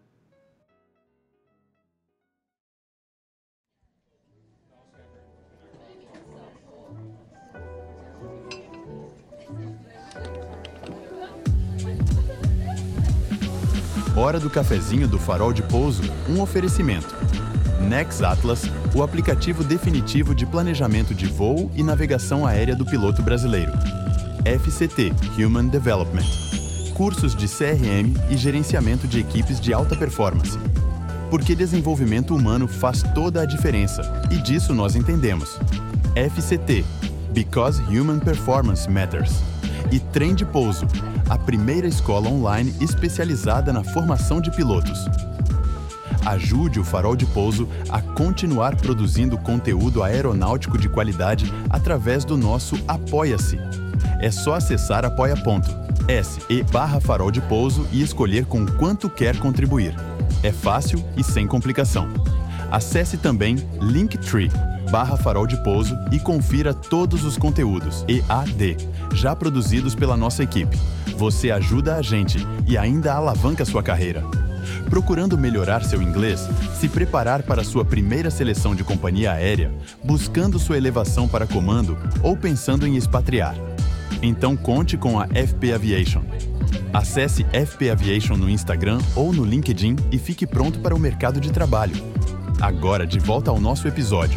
Hora do cafezinho do Farol de Pouso, um oferecimento. Nex Atlas, o aplicativo definitivo de planejamento de voo e navegação aérea do piloto brasileiro. FCT, Human Development. Cursos de CRM e gerenciamento de equipes de alta performance. Porque desenvolvimento humano faz toda a diferença, e disso nós entendemos. FCT, Because Human Performance Matters. E Trem de Pouso, a primeira escola online especializada na formação de pilotos. Ajude o Farol de Pouso a continuar produzindo conteúdo aeronáutico de qualidade através do nosso Apoia-se. É só acessar apoia.se/Farol de Pouso e escolher com quanto quer contribuir. É fácil e sem complicação. Acesse também Linktree/Farol de Pouso e confira todos os conteúdos EAD já produzidos pela nossa equipe. Você ajuda a gente e ainda alavanca sua carreira. Procurando melhorar seu inglês, se preparar para sua primeira seleção de companhia aérea, buscando sua elevação para comando ou pensando em expatriar? Então conte com a FP Aviation. Acesse FP Aviation no Instagram ou no LinkedIn e fique pronto para o mercado de trabalho. Agora de volta ao nosso episódio.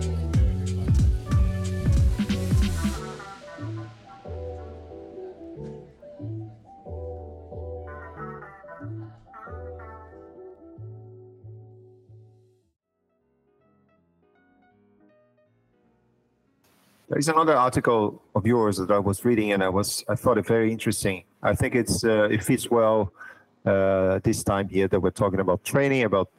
There is another article of yours that I was reading, and I thought it very interesting. I think it fits well this time here that we're talking about training, about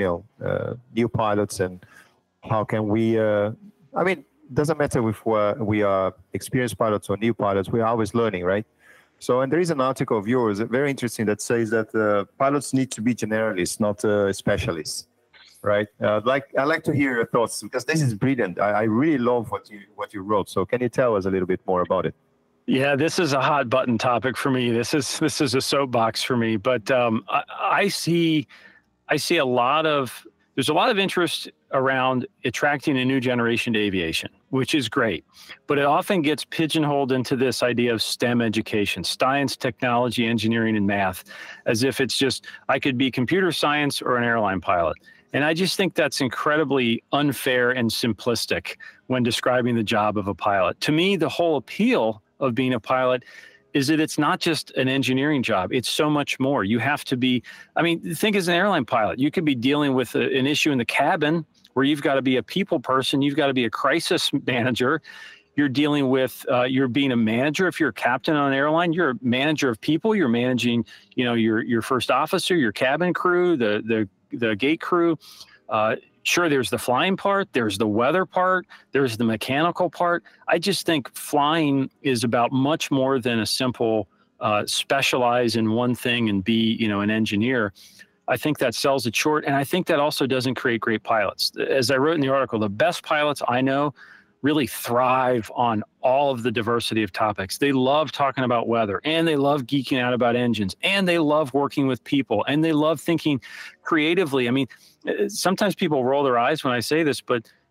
new pilots, and how can we? It doesn't matter if we are experienced pilots or new pilots. We are always learning, right? So, and there is an article of yours, very interesting, that says that pilots need to be generalists, not specialists. Right. I'd like to hear your thoughts, because this is brilliant. I really love what you wrote. So can you tell us a little bit more about it? Yeah, this is a hot button topic for me. This is a soapbox for me. But I see there's a lot of interest around attracting a new generation to aviation, which is great. But it often gets pigeonholed into this idea of STEM education, science, technology, engineering, and math, as if it's just I could be computer science or an airline pilot. And I just think that's incredibly unfair and simplistic when describing the job of a pilot. To me, the whole appeal of being a pilot is that it's not just an engineering job. It's so much more. You have to be, think as an airline pilot, you could be dealing with an issue in the cabin where you've got to be a people person. You've got to be a crisis manager. You're dealing with, you're being a manager. If you're a captain on an airline, you're a manager of people. You're managing, your first officer, your cabin crew, the gate crew. Sure, there's the flying part, there's the weather part, there's the mechanical part. I just think flying is about much more than a simple specialize in one thing and be, an engineer. I think that sells it short. And I think that also doesn't create great pilots. As I wrote in the article, the best pilots I know really thrive on all of the diversity of topics. They love talking about weather, and they love geeking out about engines, and they love working with people, and they love thinking creatively. Sometimes people roll their eyes when I say this, but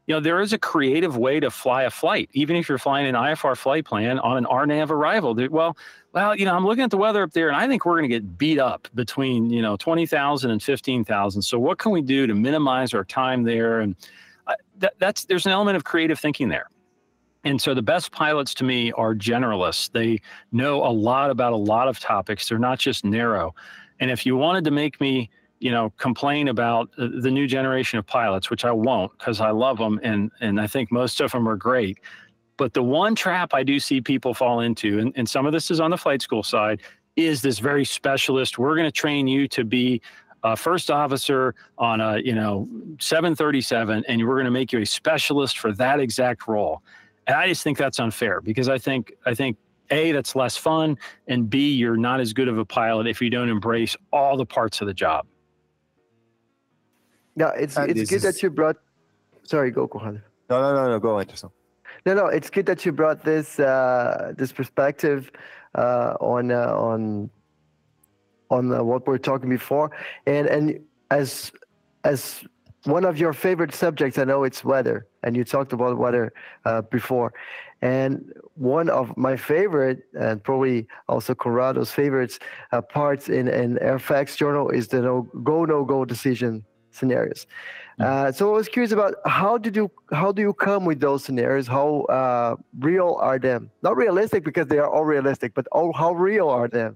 there is a creative way to fly a flight, even if you're flying an IFR flight plan on an RNAV arrival. Well, I'm looking at the weather up there, and I think we're going to get beat up between 20,000 and 15,000. So what can we do to minimize our time there? And there's an element of creative thinking there. And so the best pilots to me are generalists. They know a lot about a lot of topics. They're not just narrow. And if you wanted to make me, complain about the new generation of pilots, which I won't, because I love them and I think most of them are great. But the one trap I do see people fall into, and some of this is on the flight school side, is this very specialist. We're going to train you to be a first officer on a 737, and we're going to make you a specialist for that exact role. And I just think that's unfair, because I think A, that's less fun, and B, you're not as good of a pilot if you don't embrace all the parts of the job. Yeah, it's good that you brought. Sorry, go, Conrado. No, go, Anderson. No, it's good that you brought this perspective on what we're talking before, and as one of your favorite subjects, I know it's weather, and you talked about weather before, and one of my favorite, and probably also Conrado's favorites parts in Airfacts Journal is the no-go decision scenarios. So I was curious about how do you come with those scenarios? How real are them? Not realistic, because they are all realistic, but how real are them?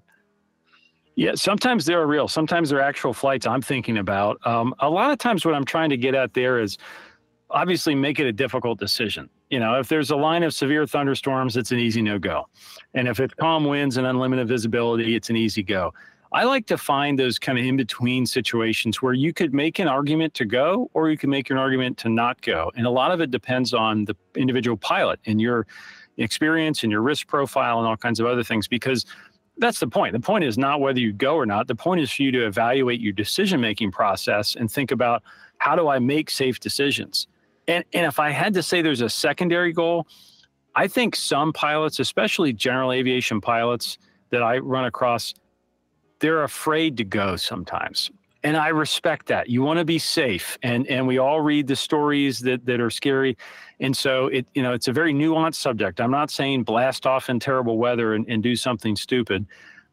Yeah, sometimes they're real. Sometimes they're actual flights I'm thinking about. A lot of times what I'm trying to get at there is obviously make it a difficult decision. If there's a line of severe thunderstorms, it's an easy no-go. And if it's calm winds and unlimited visibility, it's an easy go. I like to find those kind of in-between situations where you could make an argument to go, or you can make an argument to not go. And a lot of it depends on the individual pilot and your experience and your risk profile and all kinds of other things, because that's the point. The point is not whether you go or not. The point is for you to evaluate your decision-making process and think about, how do I make safe decisions? And if I had to say there's a secondary goal, I think some pilots, especially general aviation pilots that I run across, they're afraid to go sometimes. And I respect that. You want to be safe. And we all read the stories that are scary. And so it's a very nuanced subject. I'm not saying blast off in terrible weather and do something stupid.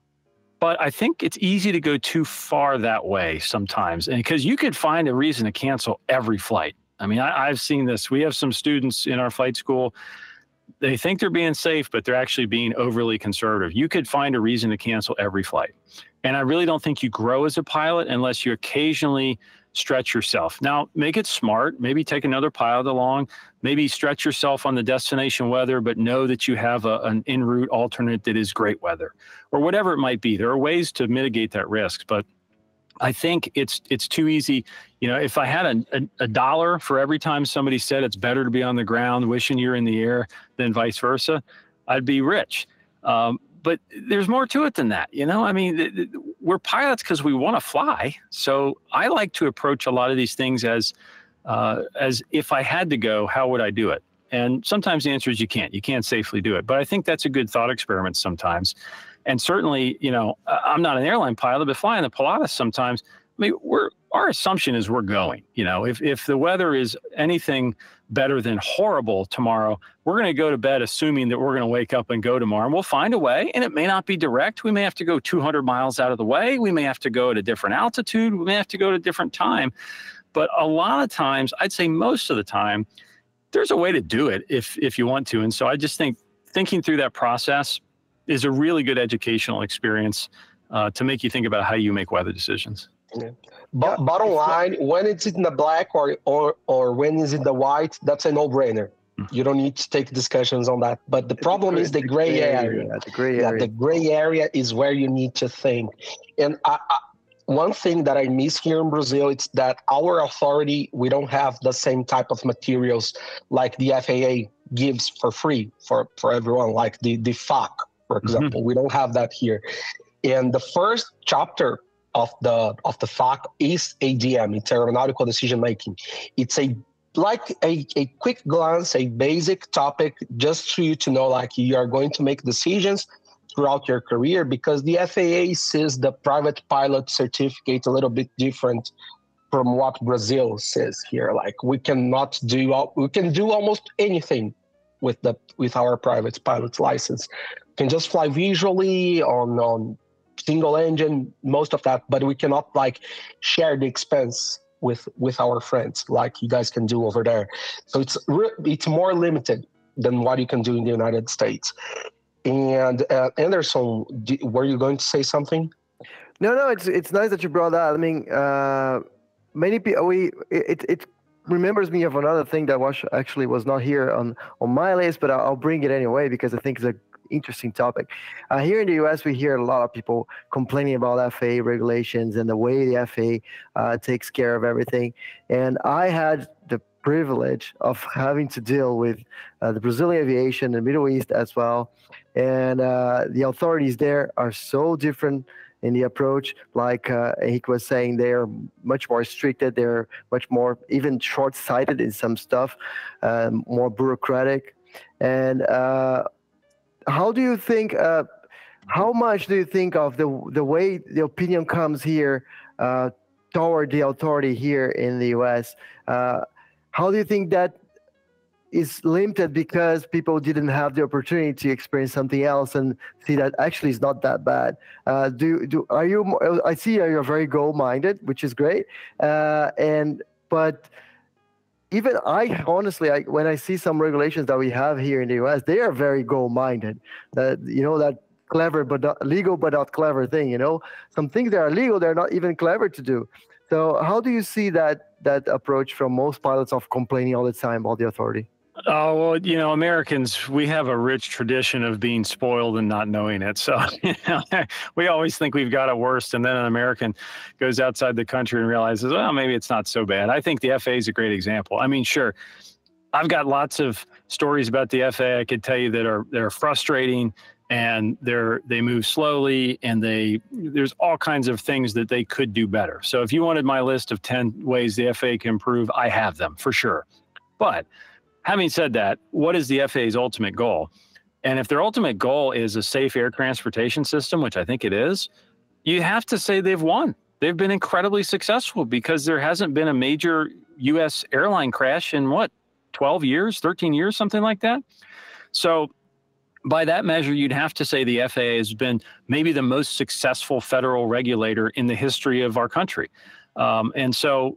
But I think it's easy to go too far that way sometimes. And because you could find a reason to cancel every flight. I mean, I've seen this. We have some students in our flight school. They think they're being safe, but they're actually being overly conservative. You could find a reason to cancel every flight. And I really don't think you grow as a pilot unless you occasionally stretch yourself. Now, make it smart. Maybe take another pilot along. Maybe stretch yourself on the destination weather, but know that you have an en route alternate that is great weather, or whatever it might be. There are ways to mitigate that risk, but I think it's too easy. If I had a dollar for every time somebody said it's better to be on the ground wishing you're in the air than vice versa, I'd be rich. But there's more to it than that. I mean, we're pilots because we want to fly. So I like to approach a lot of these things as if I had to go, how would I do it? And sometimes the answer is you can't safely do it. But I think that's a good thought experiment sometimes. And certainly, I'm not an airline pilot, but flying the Pilatus sometimes, I mean, our assumption is we're going. If the weather is anything better than horrible tomorrow, we're going to go to bed assuming that we're going to wake up and go tomorrow, and we'll find a way. And it may not be direct. We may have to go 200 miles out of the way. We may have to go at a different altitude. We may have to go at a different time. But a lot of times, I'd say most of the time, there's a way to do it if you want to. And so I just think thinking through that process is a really good educational experience to make you think about how you make weather decisions. Yeah. But bottom line, when it's in the black or when it's in the white, that's a no-brainer. You don't need to take discussions on that. But the problem is the gray area. The gray area. The gray area is where you need to think. And one thing that I miss here in Brazil, it's that our authority, we don't have the same type of materials like the FAA gives for free for everyone, like the FAC, for example. We don't have that here. And the first chapter of the FAC is ADM, it's aeronautical decision making. It's a quick glance, a basic topic just for you to know, like, you are going to make decisions throughout your career, because the FAA sees the private pilot certificate a little bit different from what Brazil says here. Like we can do almost anything with our private pilot's license. We can just fly visually on single engine, most of that, but we cannot like share the expense with our friends like you guys can do over there. So it's more limited than what you can do in the United States. And Anderson, were you going to say something? No, it's nice that you brought that. I mean, many people it remembers me of another thing that was not here on my list, but I'll bring it anyway because I think it's an interesting topic. Here in the US, we hear a lot of people complaining about FAA regulations and the way the FAA takes care of everything. And I had the privilege of having to deal with the Brazilian aviation, the Middle East as well. And the authorities there are so different in the approach. Like Henrique was saying, they're much more restricted. They're much more even short-sighted in some stuff, more bureaucratic. And how do you think, how much do you think of the way the opinion comes here toward the authority here in the US? How do you think that is limited because people didn't have the opportunity to experience something else and see that actually it's not that bad? Are you? I see you're very goal-minded, which is great. But even I honestly, when I see some regulations that we have here in the US, they are very goal-minded. That clever but not legal but not clever thing. Some things that are legal, they're not even clever to do. So how do you see that approach from most pilots of complaining all the time about the authority? Oh, well, Americans, we have a rich tradition of being spoiled and not knowing it. So we always think we've got it worse. And then an American goes outside the country and realizes, well, maybe it's not so bad. I think the FAA is a great example. I mean, sure, I've got lots of stories about the FAA I could tell you that are frustrating, and they move slowly, and there's all kinds of things that they could do better. So if you wanted my list of 10 ways the FAA can improve, I have them for sure. But having said that, what is the FAA's ultimate goal? And if their ultimate goal is a safe air transportation system, which I think it is, you have to say they've won. They've been incredibly successful because there hasn't been a major U.S. airline crash in 12 years, 13 years, something like that. So by that measure, you'd have to say the FAA has been maybe the most successful federal regulator in the history of our country. And so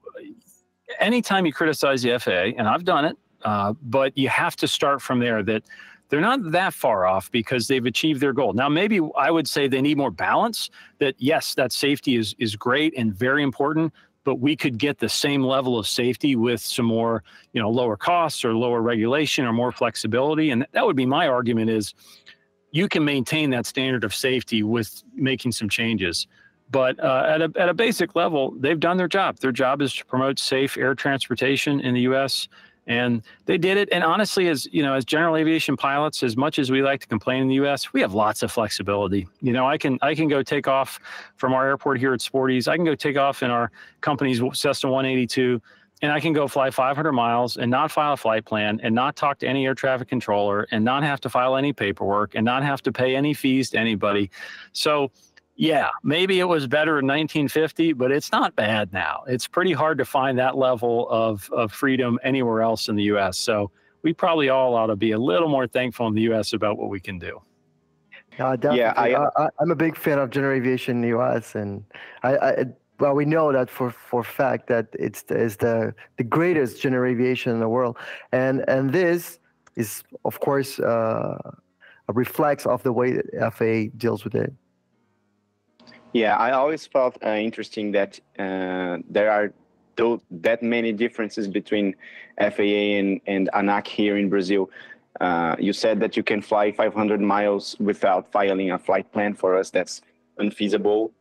anytime you criticize the FAA, and I've done it, but you have to start from there, that they're not that far off because they've achieved their goal. Now, maybe I would say they need more balance, that yes, that safety is great and very important, but we could get the same level of safety with some more, lower costs or lower regulation or more flexibility. And that would be my argument, is you can maintain that standard of safety with making some changes. But at a basic level, they've done their job. Their job is to promote safe air transportation in the U.S., and they did it. And honestly, as general aviation pilots, as much as we like to complain in the U.S., we have lots of flexibility. I can go take off from our airport here at Sporty's. I can go take off in our company's Cessna 182, and I can go fly 500 miles and not file a flight plan and not talk to any air traffic controller and not have to file any paperwork and not have to pay any fees to anybody. So yeah, maybe it was better in 1950, but it's not bad now. It's pretty hard to find that level of freedom anywhere else in the U.S. So we probably all ought to be a little more thankful in the U.S. about what we can do. Definitely. Yeah, I'm a big fan of general aviation in the U.S. and we know that for fact that it's the greatest general aviation in the world, and this is of course a reflex of the way that FAA deals with it. Yeah, I always felt interesting that there are that many differences between FAA and ANAC here in Brazil. You said that you can fly 500 miles without filing a flight plan. For us, that's unfeasible.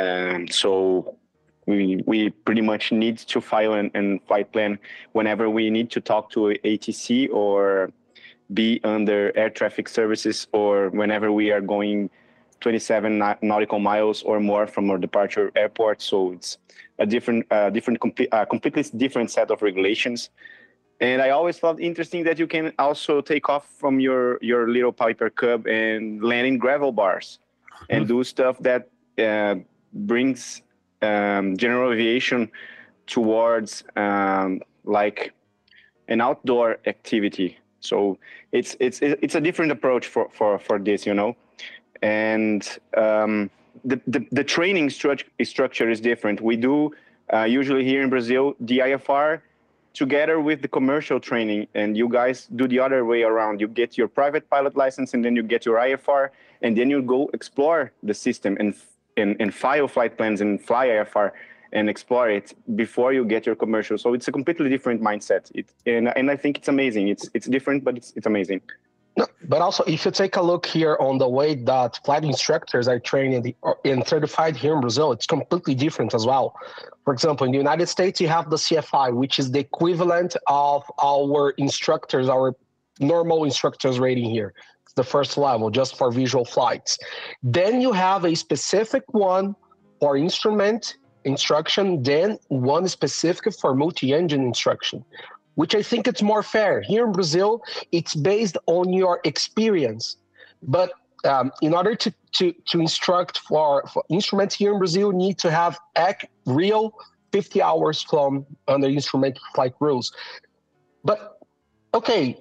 So we pretty much need to file a flight plan whenever we need to talk to ATC or be under air traffic services, or whenever we are going 27 nautical miles or more from our departure airport. So it's a completely different set of regulations. And I always felt interesting that you can also take off from your little Piper Cub and land in gravel bars and do stuff that brings general aviation towards like an outdoor activity. So it's a different approach for this, you know, and the training structure is different. We do usually here in Brazil the IFR together with the commercial training, and you guys do the other way around. You get your private pilot license, and then you get your IFR, and then you go explore the system and file flight plans and fly IFR and explore it before you get your commercial. So it's a completely different mindset. And I think it's amazing. It's different, but it's amazing. No, but also, if you take a look here on the way that flight instructors are trained and certified here in Brazil, it's completely different as well. For example, in the United States, you have the CFI, which is the equivalent of our instructors, our normal instructors rating here. It's the first level, just for visual flights. Then you have a specific one for instrument instruction, then one specific for multi-engine instruction, which I think it's more fair. Here in Brazil, it's based on your experience. But in order to instruct for instruments here in Brazil, you need to have real 50 hours flown under instrument flight rules. But, okay,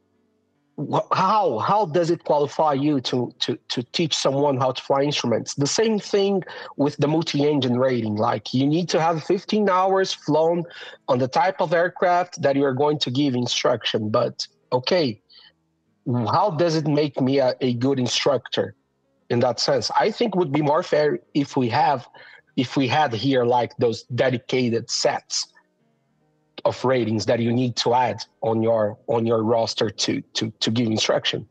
how does it qualify you to teach someone how to fly instruments? The same thing with the multi-engine rating. Like, you need to have 15 hours flown on the type of aircraft that you're going to give instruction. But okay, how does it make me a good instructor in that sense? I think it would be more fair if we had here like those dedicated sets of ratings that you need to add on your roster to give instruction.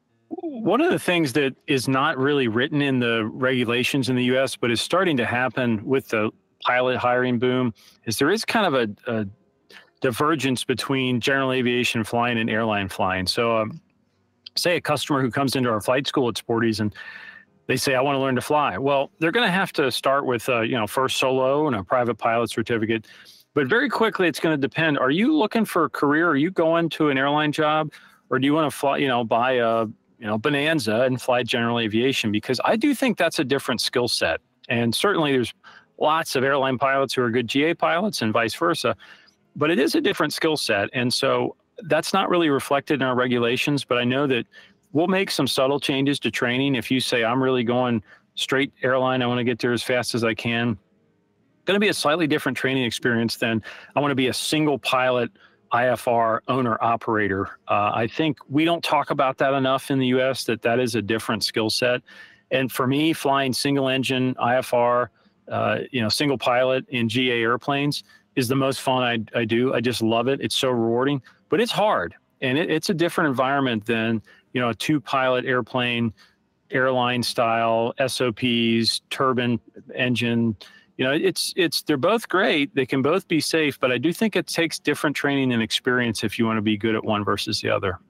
One of the things that is not really written in the regulations in the US, but is starting to happen with the pilot hiring boom, is there is kind of a divergence between general aviation flying and airline flying. So say a customer who comes into our flight school at Sporty's and they say, I want to learn to fly. Well, they're going to have to start with first solo and a private pilot certificate. But very quickly, it's going to depend. Are you looking for a career? Are you going to an airline job? Or do you want to fly, buy a, Bonanza and fly general aviation? Because I do think that's a different skill set. And certainly there's lots of airline pilots who are good GA pilots and vice versa. But it is a different skill set. And so that's not really reflected in our regulations. But I know that we'll make some subtle changes to training. If you say, I'm really going straight airline, I want to get there as fast as I can, going to be a slightly different training experience than I want to be a single pilot IFR owner operator. I think we don't talk about that enough in the US, that is a different skill set. And for me, flying single engine IFR, single pilot in GA airplanes is the most fun I do. I just love it. It's so rewarding, but it's hard. And it's a different environment than, a two pilot airplane, airline style, SOPs, turbine engine. They're both great. They can both be safe, but I do think it takes different training and experience if you want to be good at one versus the other.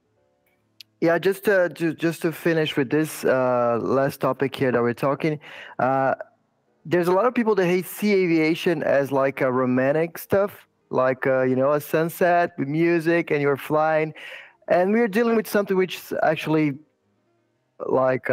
Yeah, just to finish with this last topic here that we're talking, there's a lot of people that see aviation as like a romantic stuff, like a sunset with music and you're flying, and we're dealing with something which is actually like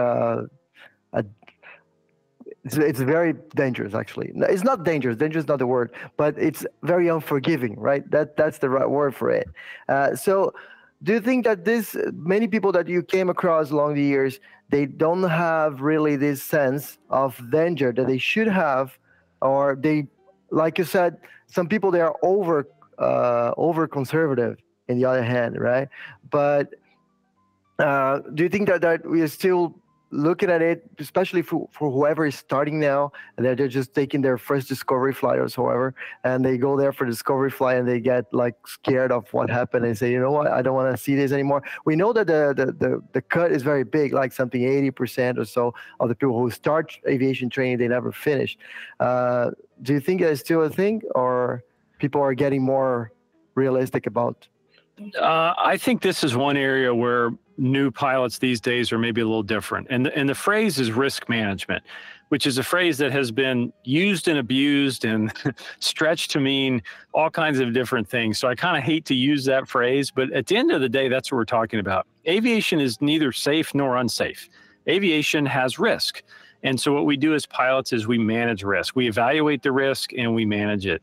it's very dangerous, actually. It's not dangerous. Dangerous is not the word, but it's very unforgiving, right? That's the right word for it. So do you think that many people that you came across along the years, they don't have really this sense of danger that they should have, or they, like you said, some people, they are over conservative in the other hand, right? But do you think that we are still looking at it, especially for whoever is starting now, and they're just taking their first discovery flight or whatever, and they go there for discovery flight and they get like scared of what happened and say, you know what, I don't want to see this anymore. We know that the cut is very big, like something 80% or so of the people who start aviation training, they never finish. Do you think that's still a thing, or people are getting more realistic about? I think this is one area where new pilots these days are maybe a little different. And the phrase is risk management, which is a phrase that has been used and abused and stretched to mean all kinds of different things. So I kind of hate to use that phrase, but at the end of the day, that's what we're talking about. Aviation is neither safe nor unsafe. Aviation has risk. And so what we do as pilots is we manage risk. We evaluate the risk and we manage it.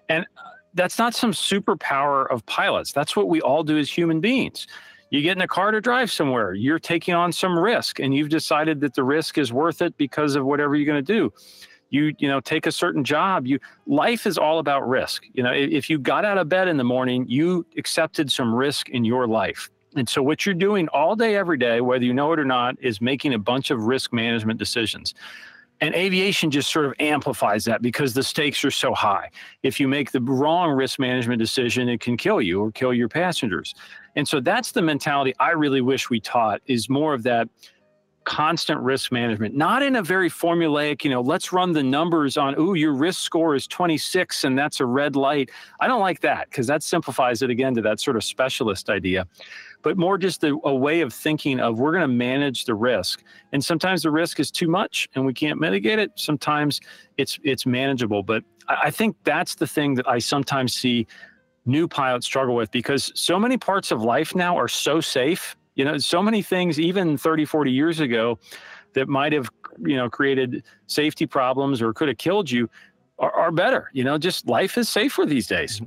And that's not some superpower of pilots. That's what we all do as human beings. You get in a car to drive somewhere, you're taking on some risk, and you've decided that the risk is worth it because of whatever you're going to do. You take a certain job. Life is all about risk. If you got out of bed in the morning, you accepted some risk in your life. And so what you're doing all day, every day, whether you know it or not, is making a bunch of risk management decisions. And aviation just sort of amplifies that because the stakes are so high. If you make the wrong risk management decision, it can kill you or kill your passengers. And so that's the mentality I really wish we taught, is more of that constant risk management, not in a very formulaic, let's run the numbers on, your risk score is 26 and that's a red light. I don't like that, because that simplifies it again to that sort of specialist idea, but more just a way of thinking of, we're going to manage the risk. And sometimes the risk is too much and we can't mitigate it. Sometimes it's manageable. But I think that's the thing that I sometimes see new pilots struggle with, because so many parts of life now are so safe. So many things, even 30, 40 years ago, that might have, created safety problems or could have killed you are better. Just life is safer these days.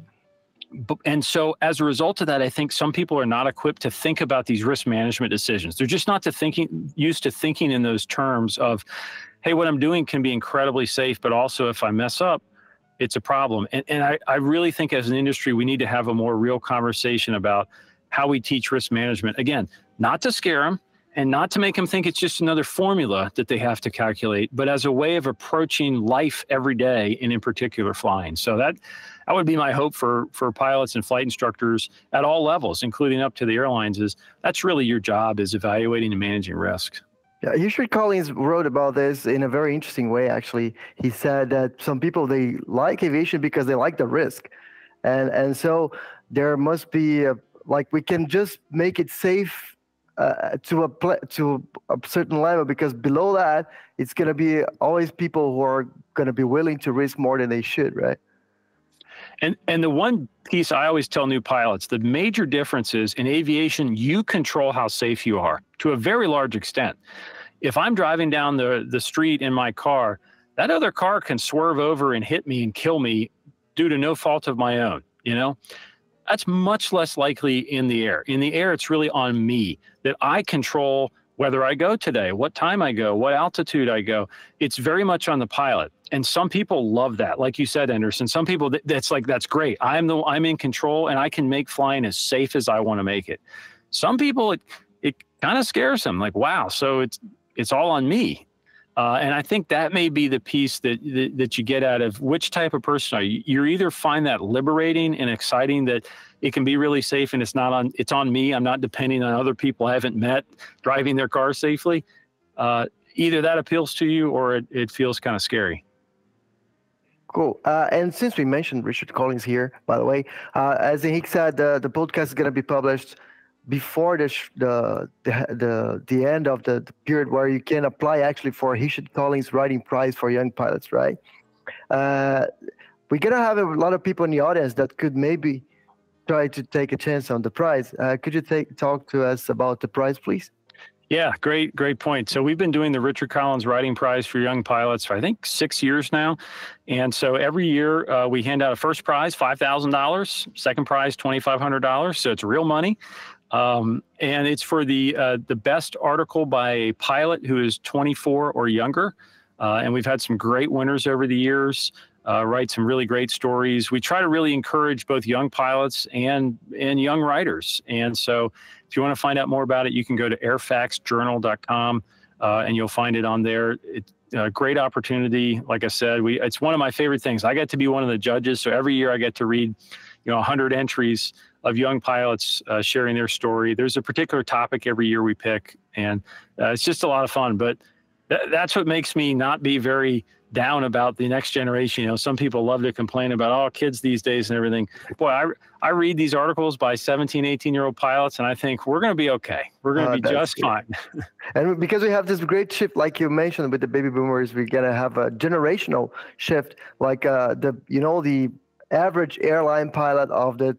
And so as a result of that, I think some people are not equipped to think about these risk management decisions. They're just not used to thinking in those terms of, hey, what I'm doing can be incredibly safe, but also if I mess up, it's a problem. And I really think as an industry, we need to have a more real conversation about how we teach risk management. Again, not to scare them and not to make them think it's just another formula that they have to calculate, but as a way of approaching life every day, and in particular flying. So that would be my hope for pilots and flight instructors at all levels, including up to the airlines, is that's really your job, is evaluating and managing risks. Yeah, Richard Collins wrote about this in a very interesting way, actually. He said that some people, they like aviation because they like the risk. And so there must be we can just make it safe to a certain level, because below that, it's going to be always people who are going to be willing to risk more than they should, right? And the one piece I always tell new pilots, the major difference is in aviation, you control how safe you are to a very large extent. If I'm driving down the street in my car, that other car can swerve over and hit me and kill me due to no fault of my own, That's much less likely in the air. In the air, it's really on me, that I control whether I go today, what time I go, what altitude I go. It's very much on the pilot. And some people love that. Like you said, Anderson, some people, that's great. I'm in control and I can make flying as safe as I want to make it. Some people, it kind of scares them, like, wow, so it's all on me. And I think that may be the piece that you get out of which type of person are you. You either find that liberating and exciting, that it can be really safe and it's on me. I'm not depending on other people I haven't met driving their car safely. Either that appeals to you or it feels kind of scary. Cool. And since we mentioned Richard Collins here, by the way, as Henrique said, the podcast is going to be published before the end of the period where you can apply actually for Richard Collins Writing Prize for young pilots, right? We're going to have a lot of people in the audience that could maybe try to take a chance on the prize. Could you talk to us about the prize, please? Yeah, great point. So we've been doing the Richard Collins Writing Prize for young pilots for, I think, 6 years now. And so every year we hand out a first prize, $5,000, second prize, $2,500. So it's real money. And it's for the best article by a pilot who is 24 or younger. And we've had some great winners over the years, write some really great stories. We try to really encourage both young pilots and young writers. And so if you want to find out more about it, you can go to airfaxjournal.com and you'll find it on there. It's a great opportunity. Like I said, it's one of my favorite things. I get to be one of the judges. So every year I get to read 100 entries of young pilots sharing their story. There's a particular topic every year we pick, and it's just a lot of fun. But that's what makes me not be very down about the next generation. Some people love to complain about, kids these days and everything. Boy, I read these articles by 17, 18-year-old pilots, and I think we're going to be okay. We're going to be just fine. And because we have this great shift, like you mentioned, with the baby boomers, we're going to have a generational shift. Like the average airline pilot of the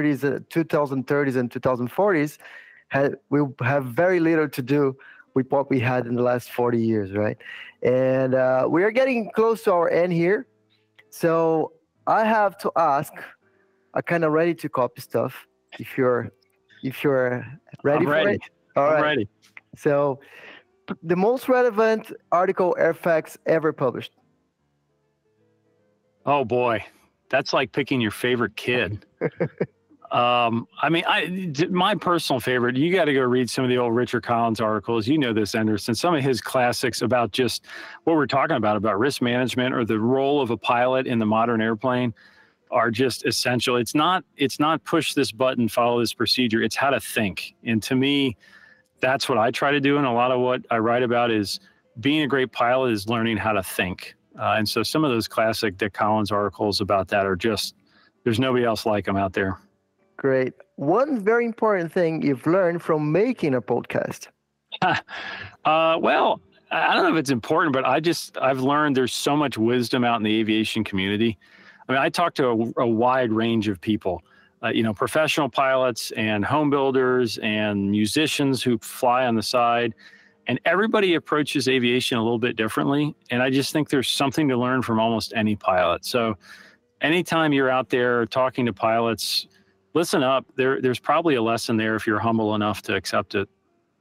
2030s and 2040s will have very little to do with what we had in the last 40 years, right? And we are getting close to our end here. So I have to ask, I kind of ready to copy stuff. If you're ready I'm for ready. it, all I'm right. ready. So, the most relevant article Airfax ever published. Oh boy, that's like picking your favorite kid. I mean, my personal favorite, you got to go read some of the old Richard Collins articles. You know this, Anderson, some of his classics about just what we're talking about risk management or the role of a pilot in the modern airplane are just essential. It's not push this button, follow this procedure. It's how to think. And to me, that's what I try to do. And a lot of what I write about is being a great pilot is learning how to think. And so some of those classic Dick Collins articles about that are just, there's nobody else like them out there. Great. One very important thing you've learned from making a podcast. Well, I don't know if it's important, but I've learned there's so much wisdom out in the aviation community. I mean, I talk to a wide range of people, professional pilots and home builders and musicians who fly on the side, and everybody approaches aviation a little bit differently. And I just think there's something to learn from almost any pilot. So anytime you're out there talking to pilots, listen up. There's probably a lesson there if you're humble enough to accept it.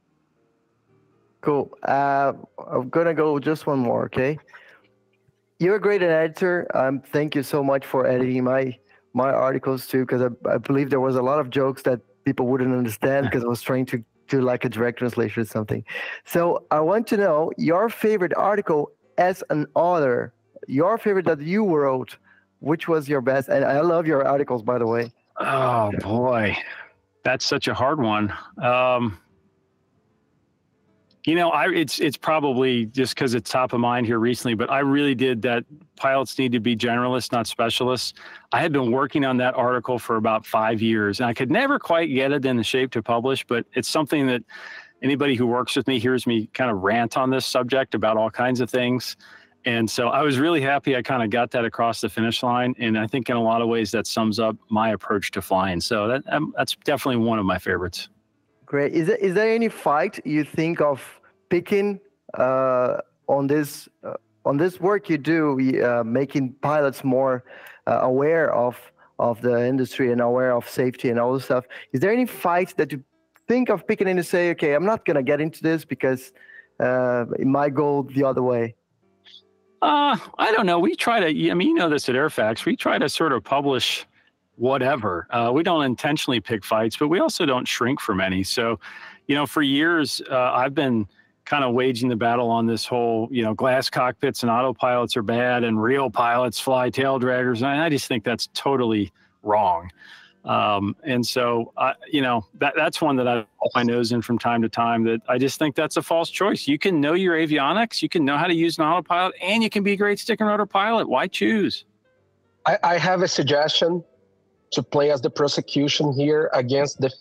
Cool. I'm gonna go just one more, okay? You're a great editor. Thank you so much for editing my articles too, because I believe there was a lot of jokes that people wouldn't understand because I was trying to do like a direct translation or something. So I want to know your favorite article as an author, your favorite that you wrote, which was your best? And I love your articles, by the way. Oh boy, that's such a hard one. It's probably just because it's top of mind here recently, but I really did that. Pilots need to be generalists, not specialists. I had been working on that article for about 5 years, and I could never quite get it in the shape to publish, but it's something that anybody who works with me hears me kind of rant on this subject about all kinds of things. And so I was really happy I kind of got that across the finish line. And I think in a lot of ways that sums up my approach to flying. So that's definitely one of my favorites. Great. Is there any fight you think of picking on this work you do, making pilots more aware of the industry and aware of safety and all this stuff? Is there any fight that you think of picking and to say, okay, I'm not going to get into this because it might go the other way? I don't know. We try to, this at Airfax, we try to sort of publish whatever. We don't intentionally pick fights, but we also don't shrink from any. So, for years, I've been kind of waging the battle on this whole, glass cockpits and autopilots are bad and real pilots fly tail draggers. And I just think that's totally wrong. And so, that's one that I put my nose in from time to time, that I just think that's a false choice. You can know your avionics, you can know how to use an autopilot, and you can be a great stick and rotor pilot. Why choose? I have a suggestion to play as the prosecution here against the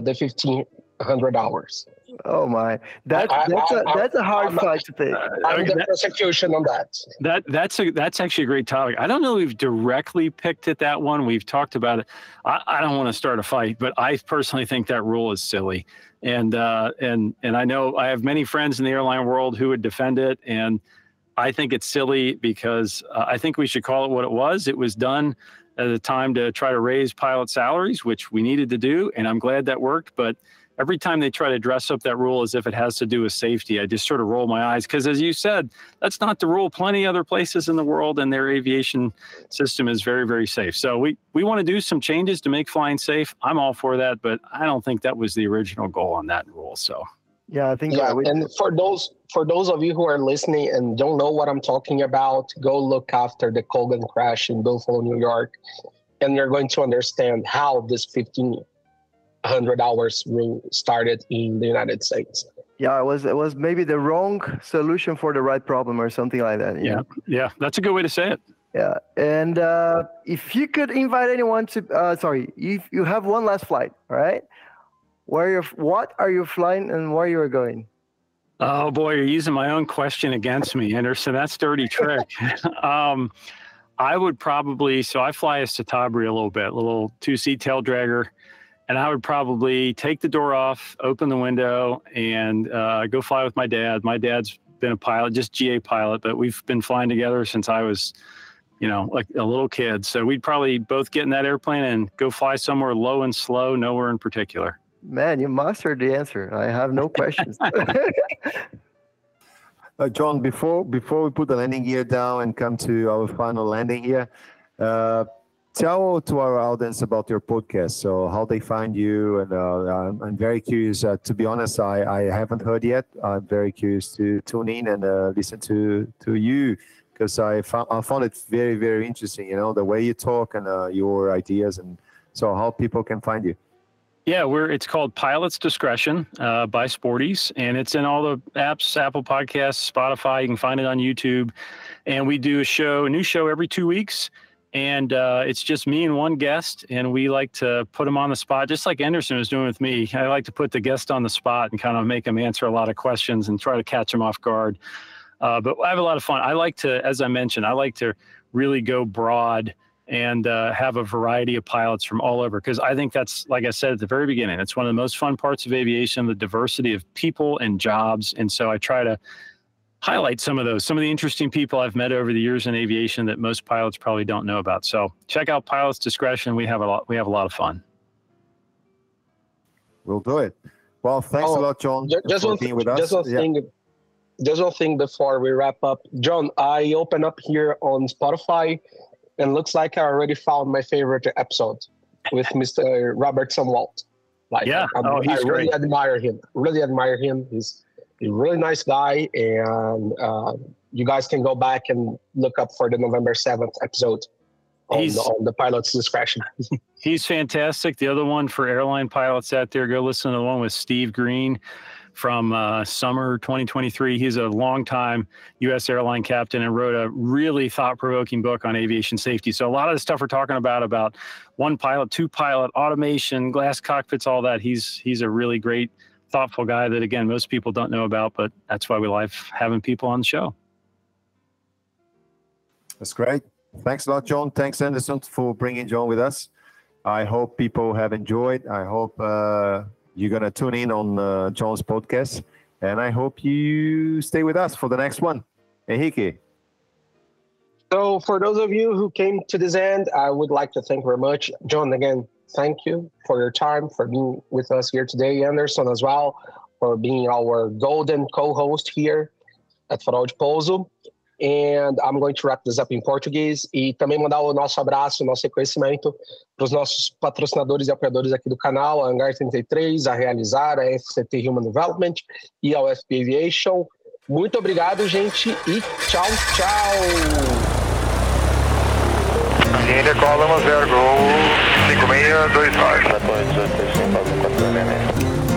1,500 hours. Oh my, that's a hard fight to pick. I'm the prosecution on that. That's actually a great topic. I don't know if we've directly picked at that one. We've talked about it. I don't want to start a fight, but I personally think that rule is silly. And I know I have many friends in the airline world who would defend it. And I think it's silly because I think we should call it what it was. It was done at a time to try to raise pilot salaries, which we needed to do. And I'm glad that worked. But every time they try to dress up that rule as if it has to do with safety, I just sort of roll my eyes. Because as you said, that's not the rule. Plenty other places in the world and their aviation system is very, very safe. So we want to do some changes to make flying safe. I'm all for that, but I don't think that was the original goal on that rule. So yeah, I think. Yeah, and for those of you who are listening and don't know what I'm talking about, go look after the Colgan crash in Buffalo, New York, and you're going to understand how this 1,500 hours rule started in the United States. Yeah, it was maybe the wrong solution for the right problem or something like that. Yeah, that's a good way to say it. Yeah, and if you could invite anyone to, if you have one last flight, all right? What are you flying and where you are going? Oh boy, you're using my own question against me, Anderson. That's dirty trick. I would probably, I fly a Citabria a little 2-seat tail dragger. And I would probably take the door off, open the window, and go fly with my dad. My dad's been a pilot, just GA pilot, but we've been flying together since I was like a little kid. So we'd probably both get in that airplane and go fly somewhere low and slow, nowhere in particular. Man, you mastered the answer. I have no questions. John, before we put the landing gear down and come to our final landing here, tell to our audience about your podcast. So how they find you, and I'm very curious. To be honest, I haven't heard yet. I'm very curious to tune in and listen to you, because I found it very, very interesting. The way you talk and your ideas, and so how people can find you. Yeah, it's called Pilot's Discretion by Sporties, and it's in all the apps, Apple Podcasts, Spotify. You can find it on YouTube. And we do a new show every 2 weeks. And it's just me and one guest, and we like to put them on the spot, just like Anderson was doing with me. I like to put the guest on the spot and kind of make them answer a lot of questions and try to catch them off guard. But I have a lot of fun. I like to, as I mentioned, I like to really go broad and have a variety of pilots from all over, because I think that's, like I said at the very beginning, it's one of the most fun parts of aviation, the diversity of people and jobs. And so I try to highlight some of the interesting people I've met over the years in aviation that most pilots probably don't know about. So check out Pilot's Discretion. We have a lot of fun. We'll do it. Well, thanks a lot, John, for being with us. Just one thing before we wrap up. John, I open up here on Spotify, and looks like I already found my favorite episode with Mr. Robert Sumwalt. He's I really great. admire him. He's a really nice guy, and you guys can go back and look up for the November 7th episode on the Pilot's Discretion. He's fantastic. The other one for airline pilots out there, go listen to the one with Steve Green from summer 2023. He's a longtime U.S. airline captain and wrote a really thought-provoking book on aviation safety. So a lot of the stuff we're talking about one pilot, two pilot, automation, glass cockpits, all that, he's a really great, thoughtful guy that, again, most people don't know about, but that's why we like having people on the show. That's great. Thanks a lot, John. Thanks, Anderson, for bringing John with us. I hope people have enjoyed. I hope you're going to tune in on John's podcast, and I hope you stay with us for the next one. Henrique. So for those of you who came to this end, I would like to thank very much. John, again, thank you for your time, for being with us here today. Anderson as well, for being our golden co-host here at Farol de Pouso. And I'm going to wrap this up in Português e também mandar o nosso abraço, o nosso reconhecimento para os nossos patrocinadores e apoiadores aqui do canal, a Hangar 33, a Realizar, a FCT Human Development e a UFP Aviation. Muito obrigado, gente, e tchau, tchau! Linha Cola 10 Gol 5629.